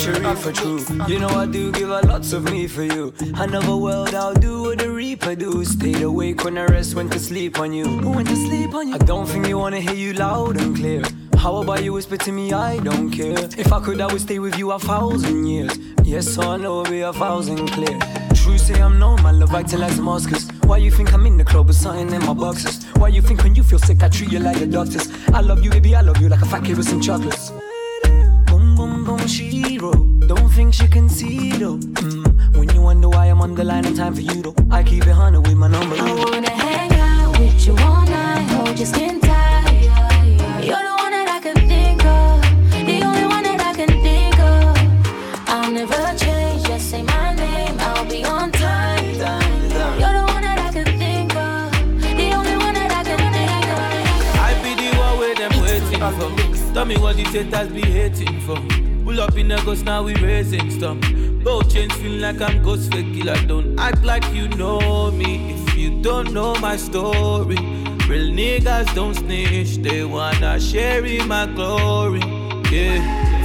treachery for true. You know I do give a lots of me for you. Another world I'll do what the reaper do. Stayed awake when I rest, went to sleep on you. Who went to sleep on you? I don't think you wanna hear you loud and clear. How about you whisper to me, I don't care. If I could, I would stay with you 1,000 years. Yes, I know it'll be 1,000 clear. True say I'm known, my love acting like Damascus. Why you think I'm in the club with something in my boxes? Why you think when you feel sick I treat you like the doctors? I love you, baby, I love you like a fat kid with some chocolates. Boom, boom, boom, Shiro. Don't think she can see though. When you wonder why I'm on the line in time for you though, I keep it 100 with my number. I wanna hang out with you all night, hold your skin tight. You're the one that I can think of, the only one that I can think of. I'll never change, just say my name, I'll be on time. You're the one that I can think of, the only one that I can think of. I be the one where them waiting for. Tell me what the haters be hating for. Pull up in the ghost, now we raising stuff. Both chains feel like I'm ghost fake killer. Don't act like you know me if you don't know my story. Real niggas don't snitch, they wanna share in my glory. Yeah.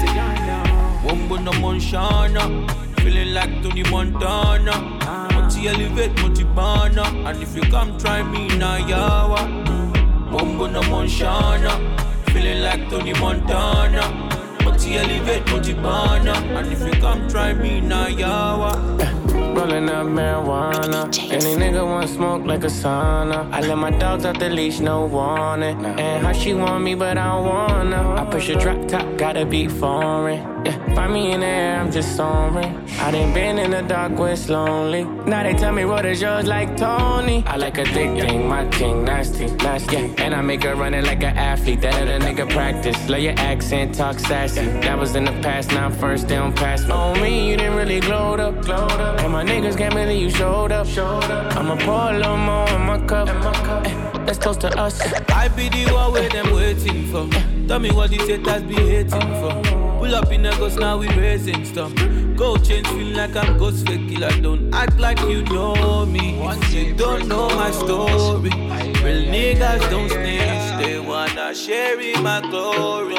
Wombo no Monshana, feeling like Tony Montana. Monty elevate, Monty Bana, and if you come try me now, yawa. Wombo no Monshana, feeling like Tony Montana. Monty elevate, Monty Bana, and if you come try me now, yawa. Rolling up marijuana. Any nigga want smoke like a sauna. I let my dogs off the leash, no warning. And how she want me, but I don't wanna. I push a drop top, gotta be foreign. Yeah, find me in the air, I'm just soaring. I done been in the dark where it's lonely. Now they tell me what is yours like Tony. I like a thick thing, my king, nasty, nasty. Yeah, and I make her run it like an athlete. That other nigga practice. Love your accent, talk sassy. That was in the past, now I'm first, they don't pass me. On me, you didn't really glowed up. And my niggas can't believe you showed up. I'ma pour a little more in my cup. Let's toast to us. I be the one where them waiting for. Tell me what the haters be hating for. Pull up in the ghost, now we raising stuff. Go change, feel like I'm ghost fake killer. Don't act like you know me if you don't know my story. Real niggas don't snitch, they wanna share in my glory.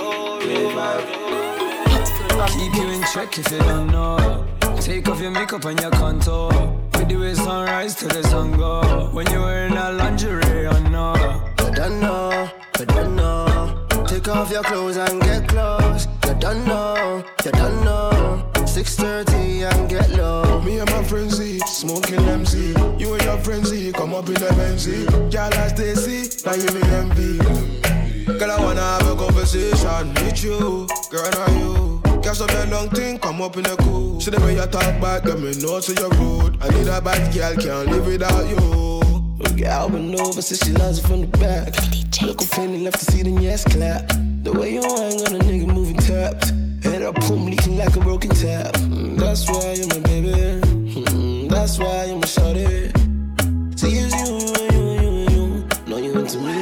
Keep you in check if you don't know. Take off your makeup and your contour. With the way sunrise till the sun go. When you're wearing a lingerie, I know. You don't know, you don't know. Take off your clothes and get close. You don't know, you don't know. 6:30 and get low. Me and my friends smoking MC. You and your friends come up in the Benzie. Girl as they see, now you me envy. Girl I wanna have a conversation with you. Girl are you? Catch up your long thing, come up in the cool. See the way you talk back, get me know to your road. I need a bad girl, can't live without you. Girl been over since she loves it from the back. Look complaining, left to see the yes clap. The way you hang on a nigga moving tapped. Head up, boom, leaking like a broken tap. That's why you're my baby. That's why you're my shawty. See it's you. Know you into me.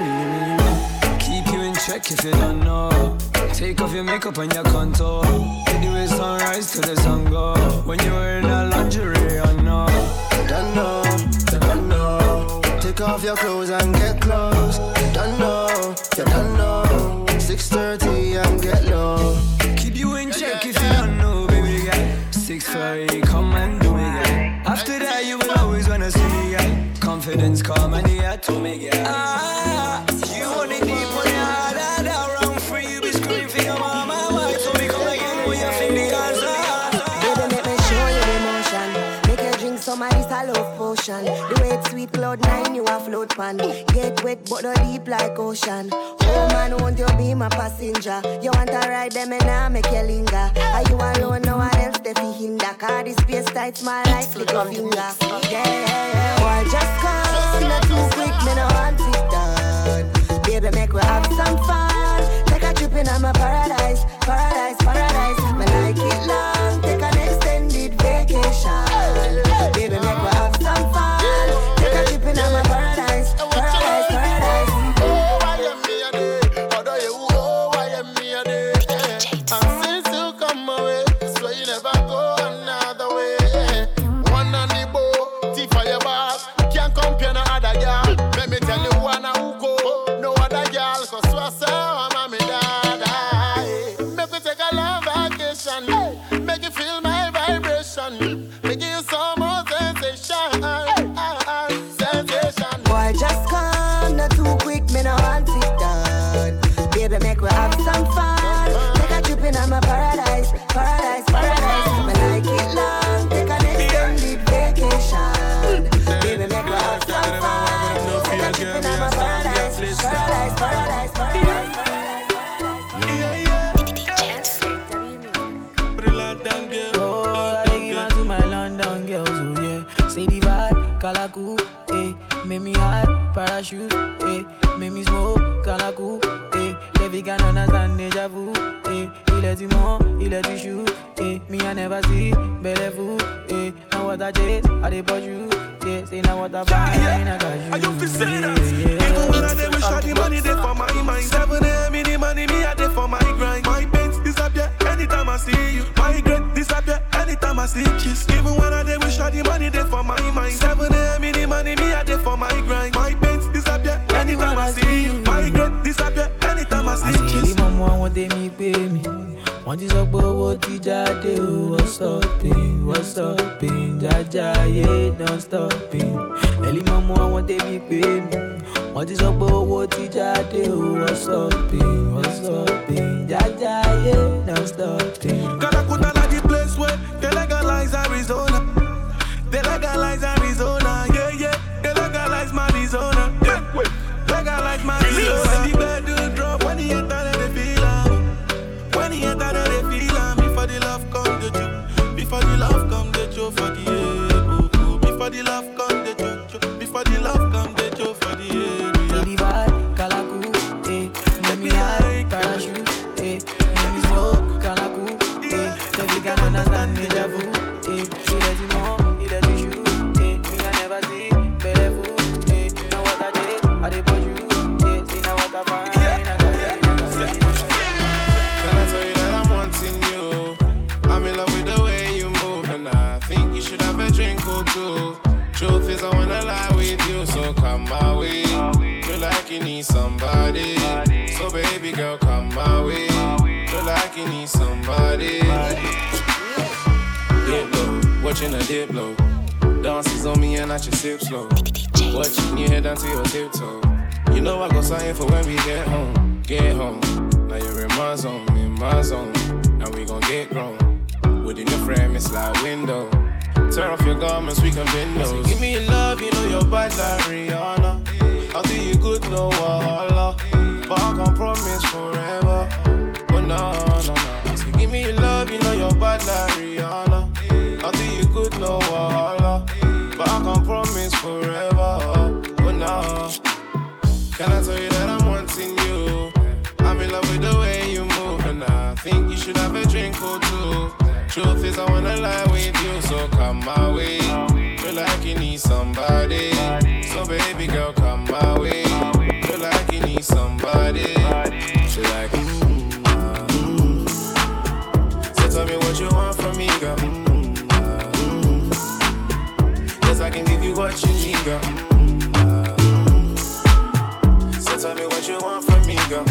Keep you in check if you don't know. Take off your makeup and your contour. With the way sunrise till the sun go. When you're wearing a lingerie, I know. You don't know, you don't know. Take off your clothes and get close. You don't know, you don't know. 6:30 and get low. Keep you in check if you don't know, baby girl. 6:30, come and do me, girl. After that, you will always wanna see me, girl. Confidence come and you to me, girl. You want it deep on your heart, around for you be screaming for your mama. Why? So me come again when you think the answer. Baby, make me show you the emotion. Make you drink some of this a love potion. The way it's sweet, cloud nine, you a float pan. Get wet, but not deep like ocean. Oh man, won't you be my passenger? You want to ride them and I make you linger. Are you alone, no one else they feel hinder? Cause this space tight, small like little finger. Yeah, boy, just come, not too quick, me no want it done. Baby, make we have some fun. Take a trip in my paradise, paradise, paradise. Me like it long, take an extended vacation. Baby, make we have some fun. Take a trip in my paradise, paradise, paradise. Let me tell you one who go, no other girl, cause so I say I'm parachute, eh. Make me smoke, quand la coupe, eh. Les filles can understand déjà vu, eh. Il est du monde, il est du chou, eh. Me I never see, belle fou, eh. Now what I chase, I dey push you, yeah. Say now what I find, I got you. I you feel say that? Even when I dey wish I the money dey for my mind. 7 a.m. in the money, me I dey for my grind. My pains disappear anytime I see you. My regret disappear anytime I see kiss. Even when I dey wish I the money dey for my mind. 7 a.m. in the money, me I dey for my grind. My pains disappear anytime I see you. My regret disappear anytime I see kiss. Maman want des mi pay me. Want this up what ti jade o. What's stopping? Jaja yeah, don't stopping. Eli maman want des mi pay me. Want this up what ti jade o. What's stopping? Jaja yeah, don't stopping. Calacuta like the place where they legalize Arizona. They legalize Arizona, yeah, yeah. They legalize Arizona, yeah. Legalize Arizona. When the bed do drop, when he enter, they feel am. When he enter, they feel am. Before the love come, the joke. Before the love come, the joke for the air. Before the love come, the joke. Before the love come, the joke for the air. Baby vibe, Calacu, eh. Let me hide, parachute, eh. Let me smoke, Calacu, eh. The big can understand déjà vu, eh. Il est du monde, il est du chou, eh. Me I never see, belle fou, eh. Now what I did, I dey push you, eh. See now what I find, I got you. Can I tell you that I'm wanting you? I'm in love with the way you move, and I think you should have a drink or two. Truth is, I wanna lie with you, so come my way. Feel like you need somebody, so baby girl, come my way. Feel like you need somebody. Dip low, watching a dip low. Dances on me and I just sip slow. Watching you head down to your tiptoe. You know I go sign for when we get home. Get home. Now you're in my zone, and we gon' get grown. Within your frame, it's like window. Turn off your garments, we can bend those. So give me your love, you know you're bad like Rihanna. I'll do you good, no wahala. But I can't promise forever. But no. So give me your love, you know you're bad like Rihanna. I'll do you good, no wahala. But I can't promise forever. But no. Can I tell you that I'm wanting you? I'm in love with the way you move, and I think you should have a drink or two. Truth is, I wanna lie with you, so come my way. Feel like you need somebody, so baby girl, come my way. Feel like you need somebody. She like, So tell me what you want from me, girl. Yes, I can give you what you need, girl. So tell me what you want from me, girl.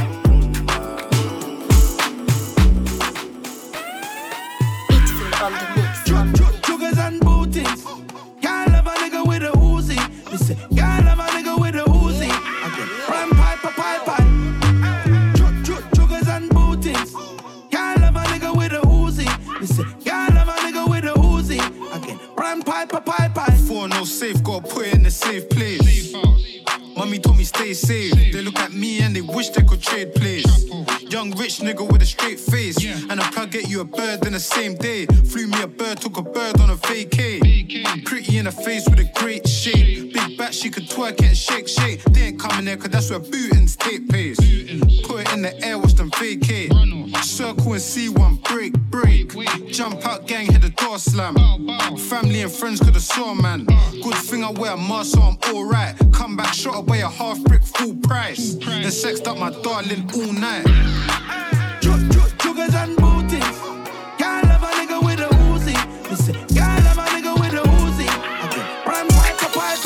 On the mix. Sugars and bootings. Can't love a nigga with a Uzi. Listen, can't love a nigga with a Uzi. Again, ram pipe. Sugars and bootings. Can't love a nigga with a Uzi. Listen, can't love a nigga with a Uzi. Again, ram pipe. For no safe, gotta put it in a safe place. Mommy told me stay safe. They look at me and they wish they could trade place. Young rich nigga with a straight face. And I can't get you a bird in the same day. Flew me a bird, took a bird on a vacay. Pretty in the face with a great shape. Big back, she could twerk it and shake. They ain't coming there cause that's where bootings take place. Put it in the air, watch them vacate. Circle and see one break. Jump out, gang, hit the door slam. Family and friends could have saw, man. Good thing I wear a mask, so I'm alright. Come back, shot away a half brick, full price. Then sexed up my darling all night. Sugars and bootings. Can't love a nigga with a Uzi. Listen, can't love a nigga with a Uzi. Again, ram pipe.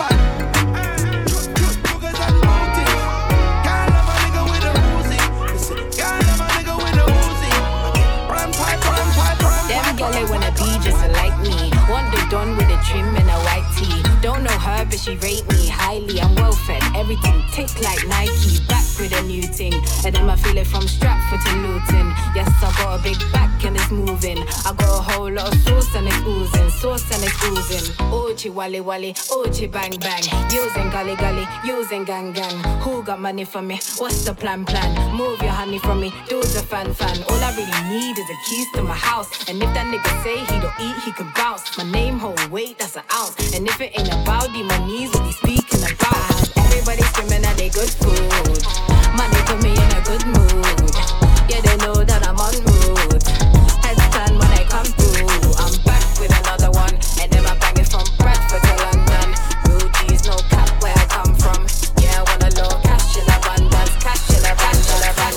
Sugars and bootings. Can't love a nigga with a Uzi. Listen, can't love a nigga with a Uzi. Again, ram pipe. Them girl they wanna be just like me. Want the done with a trim and a white tee. Don't know her but she rate me highly. I'm well fed, everything tick like Nike. Back with a new thing, and then I feel it from Stratford to Luton. Yes, I got a big back and it's moving. I got a whole lot of sauce and it's oozing. Ochi wally, ochi bang. Using gully, using gang. Who got money for me? What's the plan? Move your honey from me, do the fan. All I really need is the keys to my house. And if that nigga say he don't eat, he can bounce. My name hold weight, that's an ounce. And if it ain't about the monies, what he speaking about? Everybody screaming that they good food. Money put me in a good mood. Yeah, they know that I'm on route. Headstand when I come through. I'm back with another one. And then I'm banging from Bradford to London. Real G's, no cap where I come from. Yeah, I want a little cash in abundance. Cash in abundance.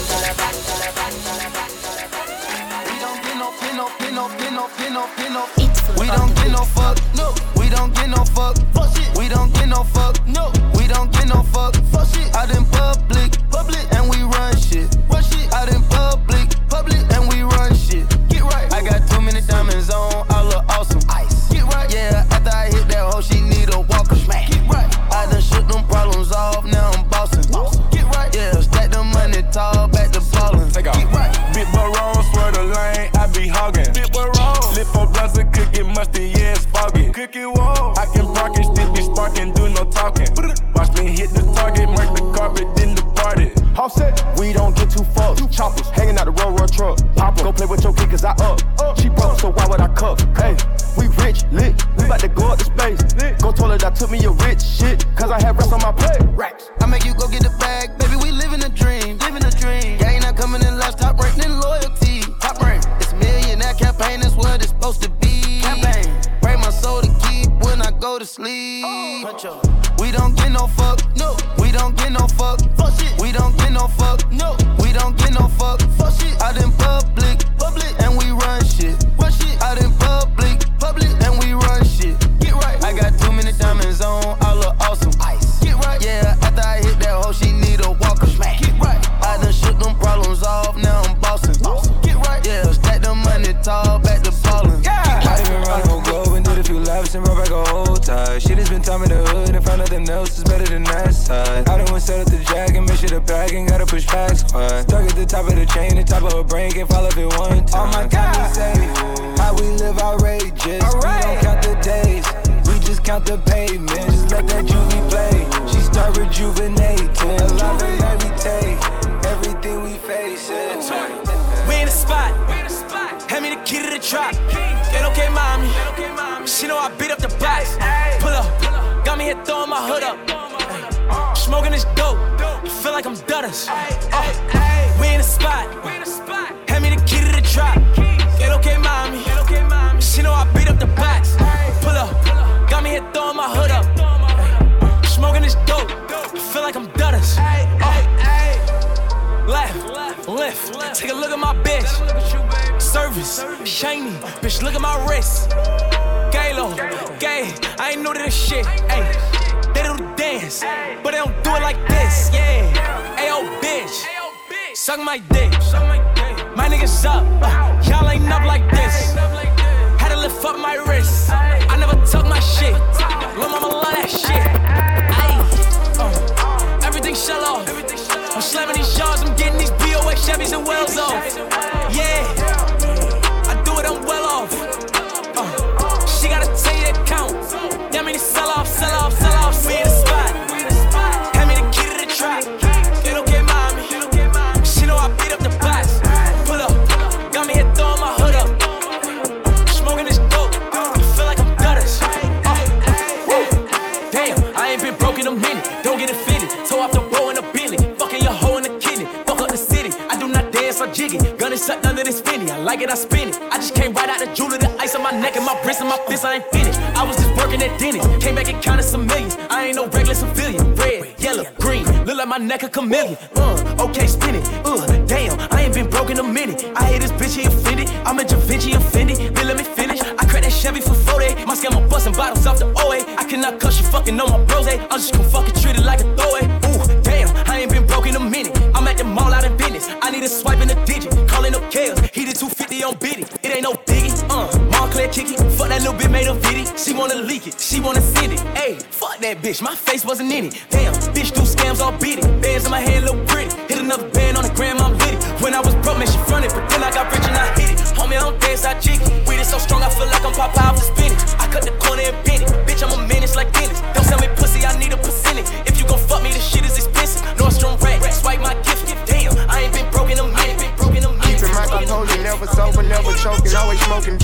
We don't get no fuck, no. We don't get no fuck, fuck shit. We don't get no fuck, no. We don't get no fuck, fuck shit. Out in public, and we run shit. Run shit. Out in public, and we run shit. Get right. I got too many diamonds on, I look awesome. Ice. Get right. Yeah, after I hit that hoe, she need a walker. Smack. Get right. I done shook them problems off, now I'm bossing. Get right. Yeah, stack the money tall, back to ballin'. Take off. Get right. Big Barone, swear the lane, I be hogging. Big Barone. Lit for blunts and cookie musty, yeah, it's foggy. Cookie wall. I can park and still be sparking, do no talking. Watch me hit the target, mark the carpet, then depart it. Offset, we don't get too fucked. Choppers hanging out the road truck. Pop go play with your kid cause I up. She broke, so why would I cuff? Hey, we rich, lit. We bout to go up to space. Go toilet, I took me a rich shit. Cause I have rest on my plate. Racks. I make you go get the bag, baby, we living a dream. Living a dream. Gang not coming in last, top rank, then loyalty. Top rank. It's millionaire campaign, that's what it's supposed to be. Campaign. Pray my soul to keep when I go to sleep. We don't get no fuck, no. We don't get no fuck, fuck shit. We don't get no fuck, no. We don't get no fuck, fuck shit. Out in public, and we run shit. Run shit. Out in public, and we run shit. Get right. I got too many diamonds on, I look awesome. Ice. Get right. Yeah, after I hit that hoe, she need a walker. Smack. Get right. I done shook them problems off, now I'm bossing. Get right. Yeah, stack the money tall, back to ballin'. Yeah. Might even run on go and did a few laps and brought back a whole tie. Shit has been time in the hood and found nothing else is better than that side. I done went set up the jack and make sure the bag and gotta push back squad. Stuck at the top of the chain, the top of a brain, can't fall off it one time. Oh my God, say how we live outrageous. Right. We don't count the days, we just count the pavement. Just let that juvie play. She start rejuvenating. Love and meditate, everything we face it. We in the spot, hand me the key to the trap. Get okay, mommy. She know I beat up the box. Pull up, got me here throwing my hood up. Smoking this dope, feel like I'm Dutters. We in the spot, hand me the key to the trap. Get okay, mommy. She know I beat up the box. Pull up, got me here throwing my hood up. Smoking this dope, feel like I'm Dutters. Left, lift, take a look at my bitch. Service, shiny, bitch, look at my wrist. Galo, gay, I ain't new to this shit. Ay, they do the dance, but they don't do it like this. Yeah, ayo, bitch, suck my dick. My niggas up, y'all ain't up like this. Had to lift up my wrist. I never tuck my shit. Lil' mama love that shit. Ay, everything shell off. I'm slamming these yards, I'm getting these BOA Chevys and Wells off. Yeah, I do it, I'm well off. She gotta tell you that count. That mean sell off. Me in the spot. Hand me the key to the trap. Get okay, mommy. She know I beat up the box. Pull up, got me here throwing my hood up. Smoking this dope, feel like I'm Dutters. Damn, I ain't been broke in a minute. Don't get offended. Toe off the row in a Bentley. Fucking your hoe in the kidney. Fuck up the city. I do not dance or jiggy. Gun is sucked under this Fendi. I like it, I spin it. I just came right out the jewelry, the ice on my neck and my wrist and my fist. I ain't finished. I was just working at Denny's. Came back and counted some millions. I ain't no regular civilian. Red, yellow, green. Look like my neck a chameleon. Okay, spin it. Damn, I ain't been broke in a minute. I hate this bitch, he offended. I'm a Da Vinci offended. Then let me finish. I cracked that Chevy for 40. My scammer busting bottles off the OA. I cannot cuss you fucking on my bros. I'm just gonna fucking treat it like a throwaway. Damn, I ain't been broke in a minute. I'm at the mall out in business. I need a swipe in a digit. Calling up Kales. He did 250 on Biddy. It ain't no biggie. Montclair kick it. Fuck that little bit made a viddy. She wanna leak it. She wanna send it. Ayy, fuck that bitch. My face wasn't in it. Damn, bitch do scams all beat it. Bands in my hand look pretty. Hit another band on the gram, I'm lit it. When I was broke, man, she fronted. But then I got rich and I hit it. Homie, I don't dance, I jig it. Weed is so strong, I feel like I'm Popeye off the spinach. I cut the corner and bend it. Bitch, I'm a menace like Dennis. Don't sell me pussy, I need a percentage. If you gon' fuck me, this shit is expensive. Nordstrom rack, swipe my gift. Damn, I ain't been broke in a minute. Keeping my composure, never sober, never choking, always smoking.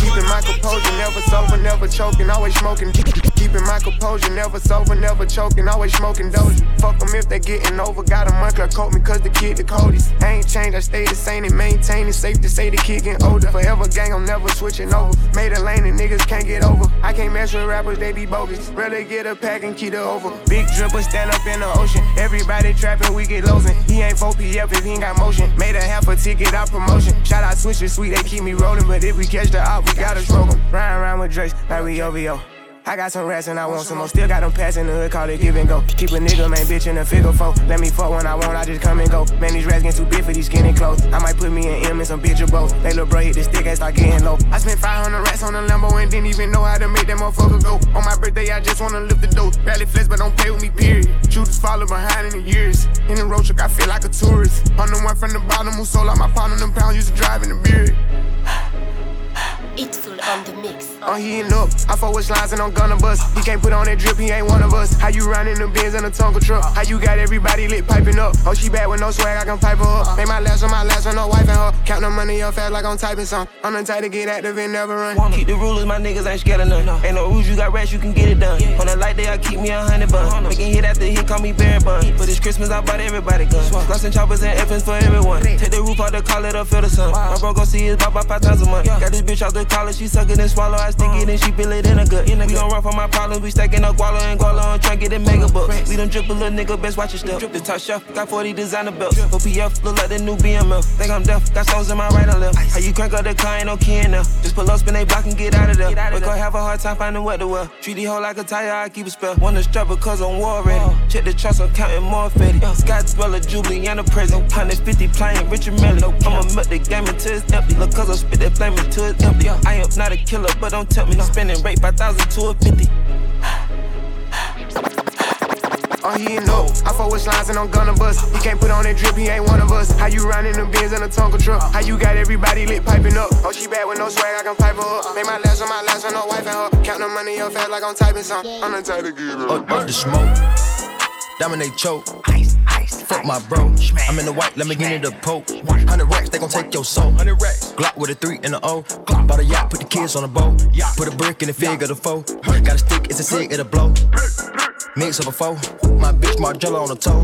Keeping my composure, never sober, never choking, always smoking. Keeping my composure, never sober, never choking, always smoking dozy. Fuck them if they getting over. Got a monkey coat me cause the kid the coldest. I ain't changed, I stay the same and maintain it. Safe to say the kid getting older. Forever gang, I'm never switching over. Made a lane and niggas can't get over. I can't mess with rappers, they be bogus. Rather get a pack and keep it over. Big dripper stand up in the ocean. Everybody trapping, we get losing. He ain't 4PF if he ain't got motion. Made a half a ticket out promotion. Shout out Switcher Sweet, they keep me rolling. But if we catch the op, we gotta smoke them. Riding around with Drake's like we OVO. I got some rats and I want some more. Still got them pass in the hood, call it give and go. Keep a nigga, man, bitch in a figure four. Let me fuck when I want, I just come and go. Man, these rats getting too big for these skinny clothes. I might put me in M and some bitch or both. They little bro hit the stick and start getting low. I spent 500 rats on the Lambo and didn't even know how to make that motherfucker go. On my birthday, I just wanna lift the dough. Rally flex, but don't play with me, period. Shooters follow behind in the years. In the road truck, I feel like a tourist. I'm the one from the bottom who sold out my partner, them pounds used to drive in the beard. It's full on the mix. I'm heating up, I fuck with lines and I'm gonna bust. He can't put on that drip, he ain't one of us. How you riding the Benz in a Tonka truck? How you got everybody lit piping up? Oh, she bad with no swag, I can pipe her up. Make my last with no wife and her. Count the money up fast like I'm typing some. I'm the type to get active and never run. Keep the rulers, my niggas ain't scared of none. Ain't no rules, you got rats, you can get it done. On a light day, I keep me 100 buns. Making hit after hit, call me Barry Bun. But it's Christmas, I bought everybody guns. Gloss and choppers and F's for everyone. Take the roof out the call it up, feel the sun. My bro gon' see his pop 5 times a month. Got this bitch out the college, she suck it and swallow. I stick it and she feel it in a gut. We don't run from my problems, we stacking up guala and guala and tryna get it mega bucks. We done drip a little nigga, best watch your step. The top shelf, got 40 designer belts. OPF, look like the new BMF. Think I'm deaf, got stones in my right and left. How you crank up the car, ain't no key in there. Just pull up, spin they block and get out of there. We gon' have a hard time finding what to wear. Treat the hoe like a tire, I keep a spell. Wanna strap because I'm war ready. Check the trust, I'm counting more fetty. Scott Dweller, Jubilee, and the present. 150 playing Richard Melly. I'ma melt the game until it's empty. Look, cause I spit that flame until it's empty. I am not a killer, but don't tempt me. Spending rate 5,000 to a 50. I'm heating up, I fuck with lines and I'm gonna bust. He can't put on that drip, he ain't one of us. How you riding the Benz in a Tonka truck? How you got everybody lit piping up? Oh, she bad with no swag, I can pipe her up. Make my last with no wife and her. Count the money up fast like I'm typing some. I'm the type to get up. Up the smoke, dominate choke. Fuck my bro, I'm in the white, let me get in the poke. 100 racks, they gon' take your soul. 100 racks, Glock with a 3 and a O. Bought a yacht, put the kids on the boat. Put a brick in the fig of the foe. Got a stick, it's a cig, it'll blow. Mix up a foe, my bitch Margiela on the toe.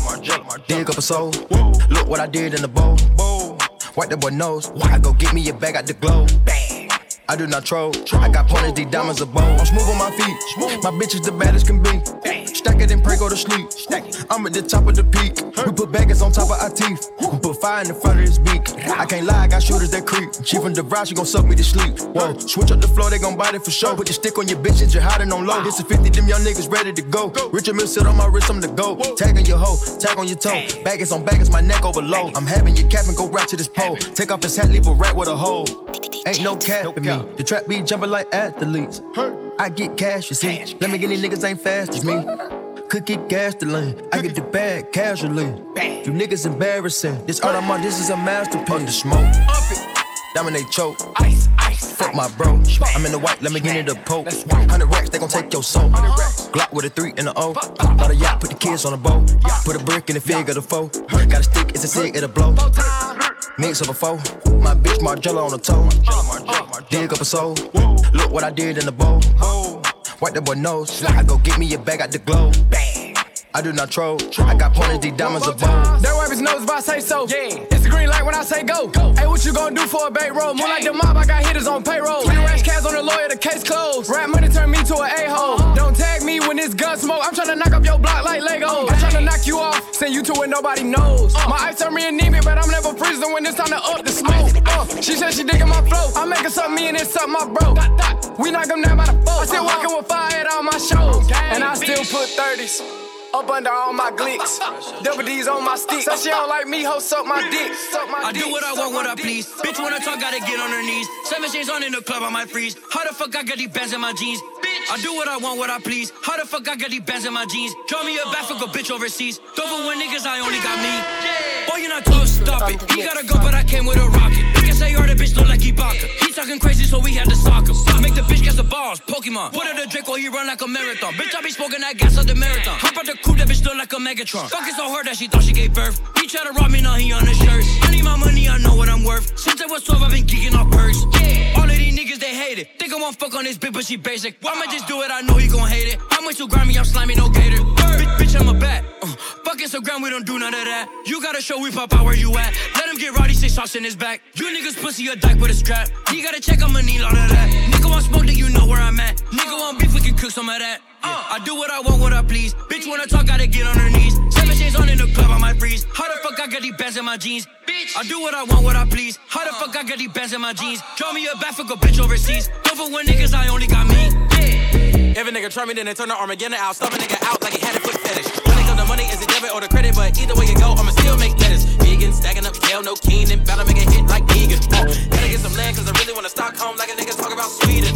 Dig up a soul, look what I did in the bowl. Wipe that boy nose, I go get me a bag out the globe. I do not troll, I got pointers, these diamonds are bold. I'm smooth on my feet, my bitch is the baddest can be. Stack it and pray, go to sleep. I'm at the top of the peak. We put baggers on top of our teeth. We put fire in the front of his beak. I can't lie, I got shooters that creep. She from the ride, she gon' suck me to sleep. Whoa, switch up the floor, they gon' bite it for sure. Put the stick on your bitch and you're hiding on low. This is 50, them young niggas ready to go. Richard Mill sit on my wrist, I'm the go. Tag on your hoe, tag on your toe. Baggers on baggers, my neck overload. I'm having your cap and go right to this pole. Take off his hat, leave a rat with a hole. Ain't no cap in me. The trap be jumping like athletes. I get cash, you see. Let me get these niggas ain't fast as me. Could get gasoline. I get the bag casually. You niggas embarrassing. This art I'm on, this is a masterpiece. On the smoke, dominate choke. Fuck my bro, I'm in the white, let me get in the poke. 100 racks, they gon' take your soul. Glock with a 3 and a O. Bought a yacht, put the kids on the boat. Put a brick in the fig of the foe. Got a stick, it's a cig, it'll blow. Mix up a foe, my bitch Margiela on the toe. Dig up a soul, look what I did in the bowl. Wipe that boy nose, I go get me a bag out the globe. I do not troll, I got pointers, these diamonds are bold. That wipe his nose if I say so. It's the green light when I say go. Hey, what you gon' do for a bait roll? More like the mob, I got hitters on payroll. 20 rash cats on the lawyer, the case closed. Rap money turn me to an a-hole. Don't tag me when it's gun smoke. I'm tryna knock up your block like Legos. I'm tryna knock you off, send you to where nobody knows. My ice turn me anemic, but I'm never freezing when it's time to up the smoke. She said she digging my flow. I'm making something me and it's something my bro. We knock them down by the four. I still walking with fire at all my shows. And I still put 30s up under all my glicks. Double D's on my stick. Said she don't like me, ho, suck my dick. I do what I want, what I please. Bitch, when I talk, gotta get on her knees. 7 chains on in the club, I might freeze. How the fuck I got these bands in my jeans? I do what I want, what I please. How the fuck I got these bands in my jeans? Draw me a back, fuck a bitch overseas. Don't for when niggas, I only got me. Boy, you're not close, stop it. He gotta go, but I came with a rocket. He can say, the bitch look like Ibaka. He talking crazy, so we had to sock him. Make the bitch catch the balls, Pokemon. Put her the Drake while he run like a marathon. Bitch, I be smoking that gas at the marathon. Hop out the coupe, that bitch look like a Megatron. Fuck it so hard that she thought she gave birth. He try to rob me, now he on his shirt. I need my money, I know what I'm worth. Since I was 12, I've been geeking off perks. All of these niggas, they hate. hate it. Think I won't fuck on this bitch, but she basic. I'ma just do it, I know he gon' hate it. How much you grimy, I'm slimy, no gator. Bitch, I'm a bat. Fuck Instagram, we don't do none of that. You gotta show we pop out where you at. Let him get rowdy, 6 shots in his back. You niggas pussy a dyke with a strap. He gotta check, I'ma need all of that. Nigga want smoke, then you know where I'm at. Nigga want beef, we can cook some of that. I do what I want, what I please. Bitch wanna talk, gotta get on her knees. 7 chains on in the club, I might freeze. How the fuck I got these bands in my jeans? Bitch, I do what I want, what I please. How the fuck I got these bands in my jeans? Draw me a back, fuck a bitch overseas. Don't for when niggas, I only got me. Yeah. If a nigga try me, then they turn the Armageddon out. Stop a nigga out like he had a foot fetish. When it comes to money, is it debit or the credit? But either way you go, I'ma still make letters. Vegan, stacking up kale, no Keenan. Bout to make a hit like vegan. Gotta get some land, cause I really wanna Stockholm like a nigga talk about Sweden.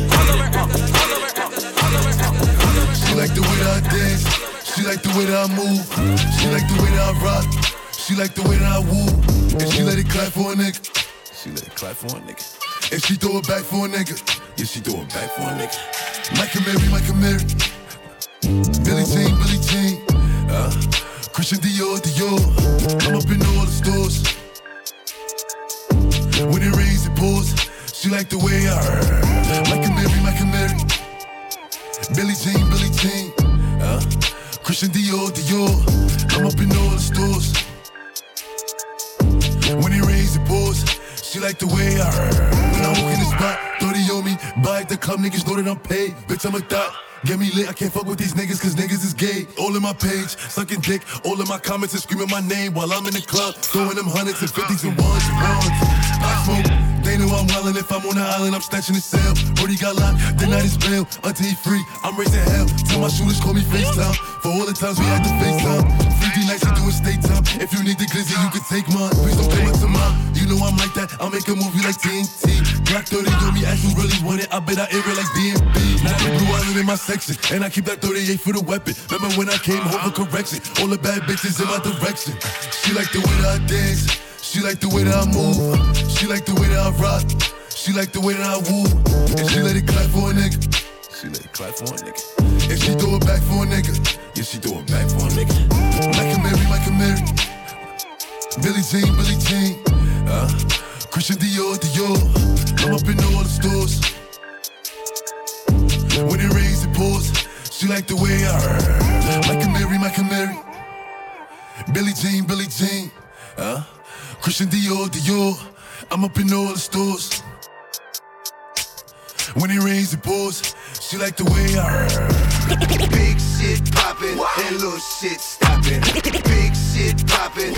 She like the way that I dance. She like the way that I move. She like the way that I rock. She like the way that I woo. And she let it clap for a nigga. She let it clap for a nigga. And she throw it back for a nigga. Yeah, she throw it back for a nigga. Mike and Mary. Billie Jean. Christian Dior. I'm up in all the stores. When it rains, it pours. She like the way I Mike and Mary. Billie Jean. Christian Dior. I'm up in all the stores. When it rains, it pours. She like the way I When I walk in the spot, 30 on me. Buy at the club, niggas know that I'm paid. Bitch, I'm a thot. Get me lit, I can't fuck with these niggas cause niggas is gay. All in my page, sucking dick. All in my comments and screaming my name while I'm in the club. Throwing them hundreds and 50s and ones. I smoke, they know I'm wildin'. If I'm on the island, I'm snatching the cell. Brody got locked, the night is bail. Until he free, I'm raising hell. Tell my shooters call me FaceTime. For all the times we had to FaceTime. 3D nights, we doing state time. If you need the glizzy, you can take mine. Please don't play with mine. You know I'm like that, I'll make a movie like TNT. Glock 30 on me, ask who really want it. I bet I air it like DMB. Now the blue island in my section, and I keep that 38 for the weapon. Remember when I came home for correction? All the bad bitches in my direction. She like the way that I dance. She like the way that I move. She like the way that I rock. She like the way that I woo. And she let it clap for a nigga. She let it clap for a nigga. And she throw it back for a nigga. Yeah, she throw it back for a nigga. Mike and Mary. Billie Jean. Christian Dior. I'm up in all the stores. When it rains, it pours. She like the way I Mike and Mary. Billie Jean. Christian Dior. I'm up in all the stores. When it rains, it pours. She like the way I Big shit poppin' and little shit stoppin'. Big shit poppin',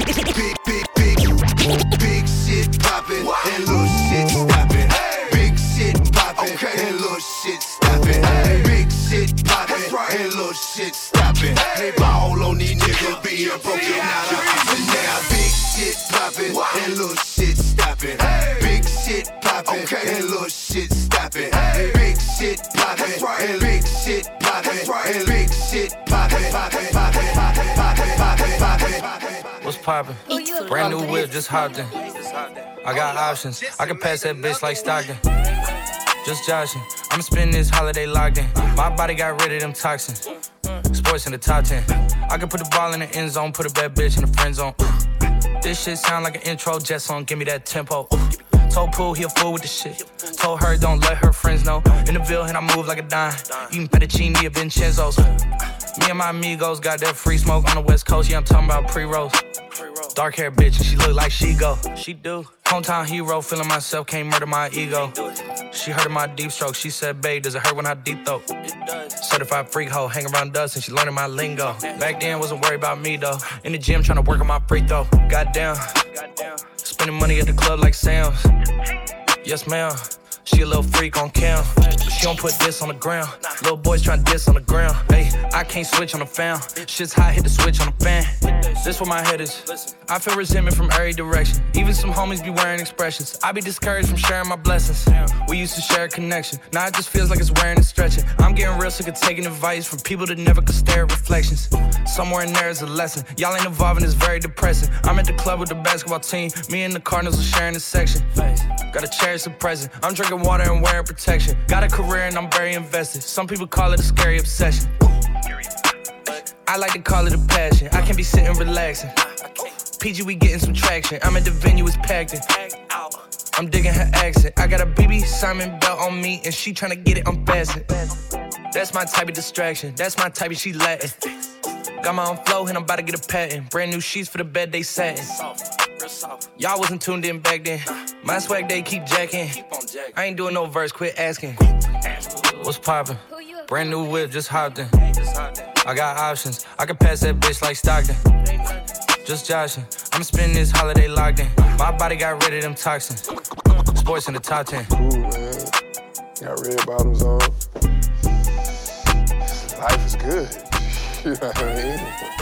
big shit poppin' and little shit stoppin'. Big shit poppin' and little shit stoppin'. Big shit poppin' and little shit stoppin'. They ball on these niggas being broken out of option now. Big shit poppin' and little shit stoppin'. Big shit poppin' and little shit stoppin'. Big shit poppin' and big shit poppin' and big shit poppin'. What's poppin'? Brand new whip, just hopped in. I got options. I can pass that bitch like Stockton. Just joshing. I'ma spend this holiday locked in. My body got rid of them toxins. Sports in the top 10. I can put the ball in the end zone, put a bad bitch in the friend zone. This shit sound like an intro jet song, give me that tempo. Told Pooh he a fool with the shit. Told her don't let her friends know. In the Ville and I move like a dime. Eating fettuccine at Vincenzo's. Me and my amigos got that free smoke on the West Coast. Yeah, I'm talking about pre-rolls. Dark hair bitch and she look like she go. She do. Hometown hero, feeling myself, can't murder my ego. She heard of my deep stroke. She said, babe, does it hurt when I deep throat? Certified freak hoe, hang around dust and she learning my lingo. Back then, wasn't worried about me though. In the gym, trying to work on my free throw. Goddamn. Spending money at the club like Sam's. Yes, ma'am. She a little freak on cam. She don't put this on the ground. Little boys tryna diss on the ground. Hey, I can't switch on the fan. Shit's hot, hit the switch on the fan. This where my head is. I feel resentment from every direction. Even some homies be wearing expressions. I be discouraged from sharing my blessings. We used to share a connection. Now it just feels like it's wearing and stretching. I'm getting real sick of taking advice from people that never could stare at reflections. Somewhere in there is a lesson. Y'all ain't evolving, it's very depressing. I'm at the club with the basketball team. Me and the Cardinals are sharing this section. Gotta cherish the present. I'm drinking water and wearing protection. Got a career and I'm very invested. Some people call it a scary obsession. I like to call it a passion. I can't be sitting relaxing. PG, we getting some traction. I'm at the venue, it's packed in. I'm digging her accent. I got a BB Simon belt on me, and she tryna get it unfastened. That's my type of distraction. That's my type of she Latin. Got my own flow, and I'm about to get a patent. Brand new sheets for the bed, they satin. Y'all wasn't tuned in back then. My swag, they keep jacking. I ain't doing no verse, quit asking. What's poppin'? Brand new whip, just hopped in. I got options. I can pass that bitch like Stockton. Just joshing. I'm spending this holiday locked in. My body got rid of them toxins. Sports in the top 10. Cool, man. Got red bottoms on. Life is good. You know what I mean?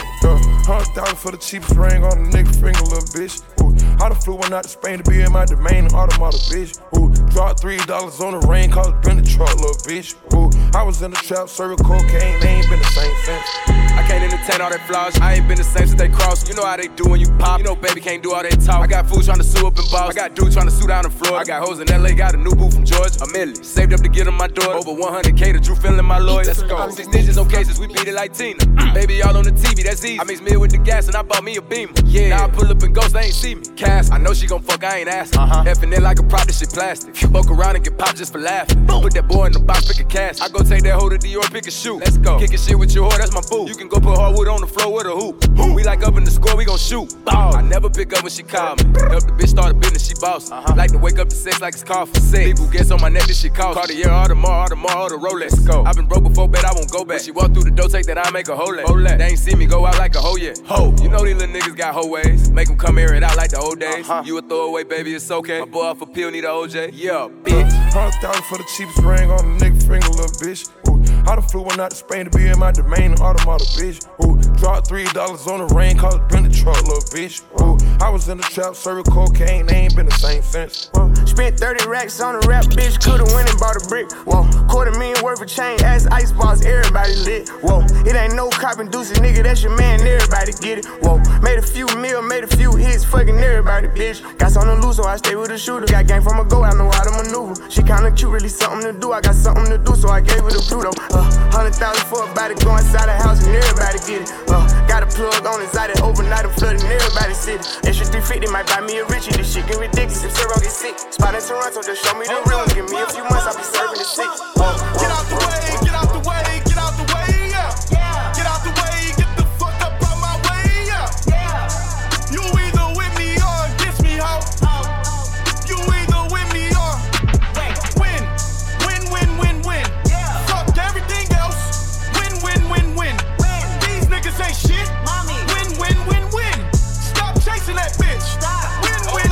$100,000 for the cheapest ring on a nigga finger, little bitch. Ooh, I done flew one out to Spain to be in my domain, automata, bitch. Ooh, dropped $3 on the rain, called it been the truck, little bitch. Ooh, I was in the trap, serving cocaine, they ain't been the same since. I can't entertain all that flaws. I ain't been the same since they crossed. You know how they do when you pop. You know baby can't do all that talk. I got fools trying to sue up in Boston. I got dudes trying to sue down in Florida. I got hoes in LA, got a new boo from Georgia. A million. Saved up to get on my door. Over 100K to Drew feeling my lawyer. Let's go. 6 digits on cases, we beat it like Tina. Baby, all on the TV, that's easy. I mix meal with the gas and I bought me a Beamer. Yeah. Now I pull up and ghost, they ain't see me. Cass, I know she gon' fuck, I ain't asking. Effing it like a prop, this shit plastic. Fuck around and get popped just for laughing. Boom. Put that boy in the box, pick a cast. I go take that hoe to Dior, pick a shoe. Let's go. Kickin' shit with your whore, that's my boo. You can go put hardwood on the floor with a hoop. We like up in the score, we gon' shoot. I never pick up when she call me. Help the bitch start a business, she boss. Like to wake up to sex like it's coffee. People gets on my neck, this shit cost. Cartier, all the Rolex. Go. I've been broke before, bet I won't go back. When she walk through the door, take that I make a hoe leg. They ain't see me go out like a hoe yet. Ho, you know these little niggas got hoe ways. Make them come air it out like the old days. You a throwaway, baby, it's okay. My boy off a pill, need a OJ. Yeah, bitch. $100,000 for the cheapest ring on a nigga finger, little bitch. Ooh, I done flew one out to Spain to be in my domain, automata, bitch. Ooh, dropped $3 on the rain, called it been the truck, little bitch. Ooh, I was in the trap, serving cocaine, they ain't been the same since. Spent 30 racks on a rap, bitch, could've went and bought a brick. Whoa, $250,000 worth of chain, ass ice balls, everybody lit. Whoa, it ain't no cop inducing, nigga, that's your man, everybody get it. Whoa, made a few mil, made a few hits, fucking everybody, bitch. Got something to lose, so I stay with a shooter. Got game from a go, I know how to maneuver. She kinda cute, really something to do. I got something to do, so I gave her the Pluto. 100,000 for a body, go inside the house and everybody get it. Got a plug on inside it, overnight I'm flooding everybody's city. Extra 350 might buy me a Richie, this shit get ridiculous if Zero get sick. Spot in Toronto, just show me the real one. Give me a few months, I'll be serving the six. Get out the way, get out the way, get out the way, yeah. Get out the way, get the fuck up out my way, yeah. You either with me or against me, ho. You either with me or win. Fuck everything else. Win. These niggas ain't shit. Win. Stop chasing that bitch. Win.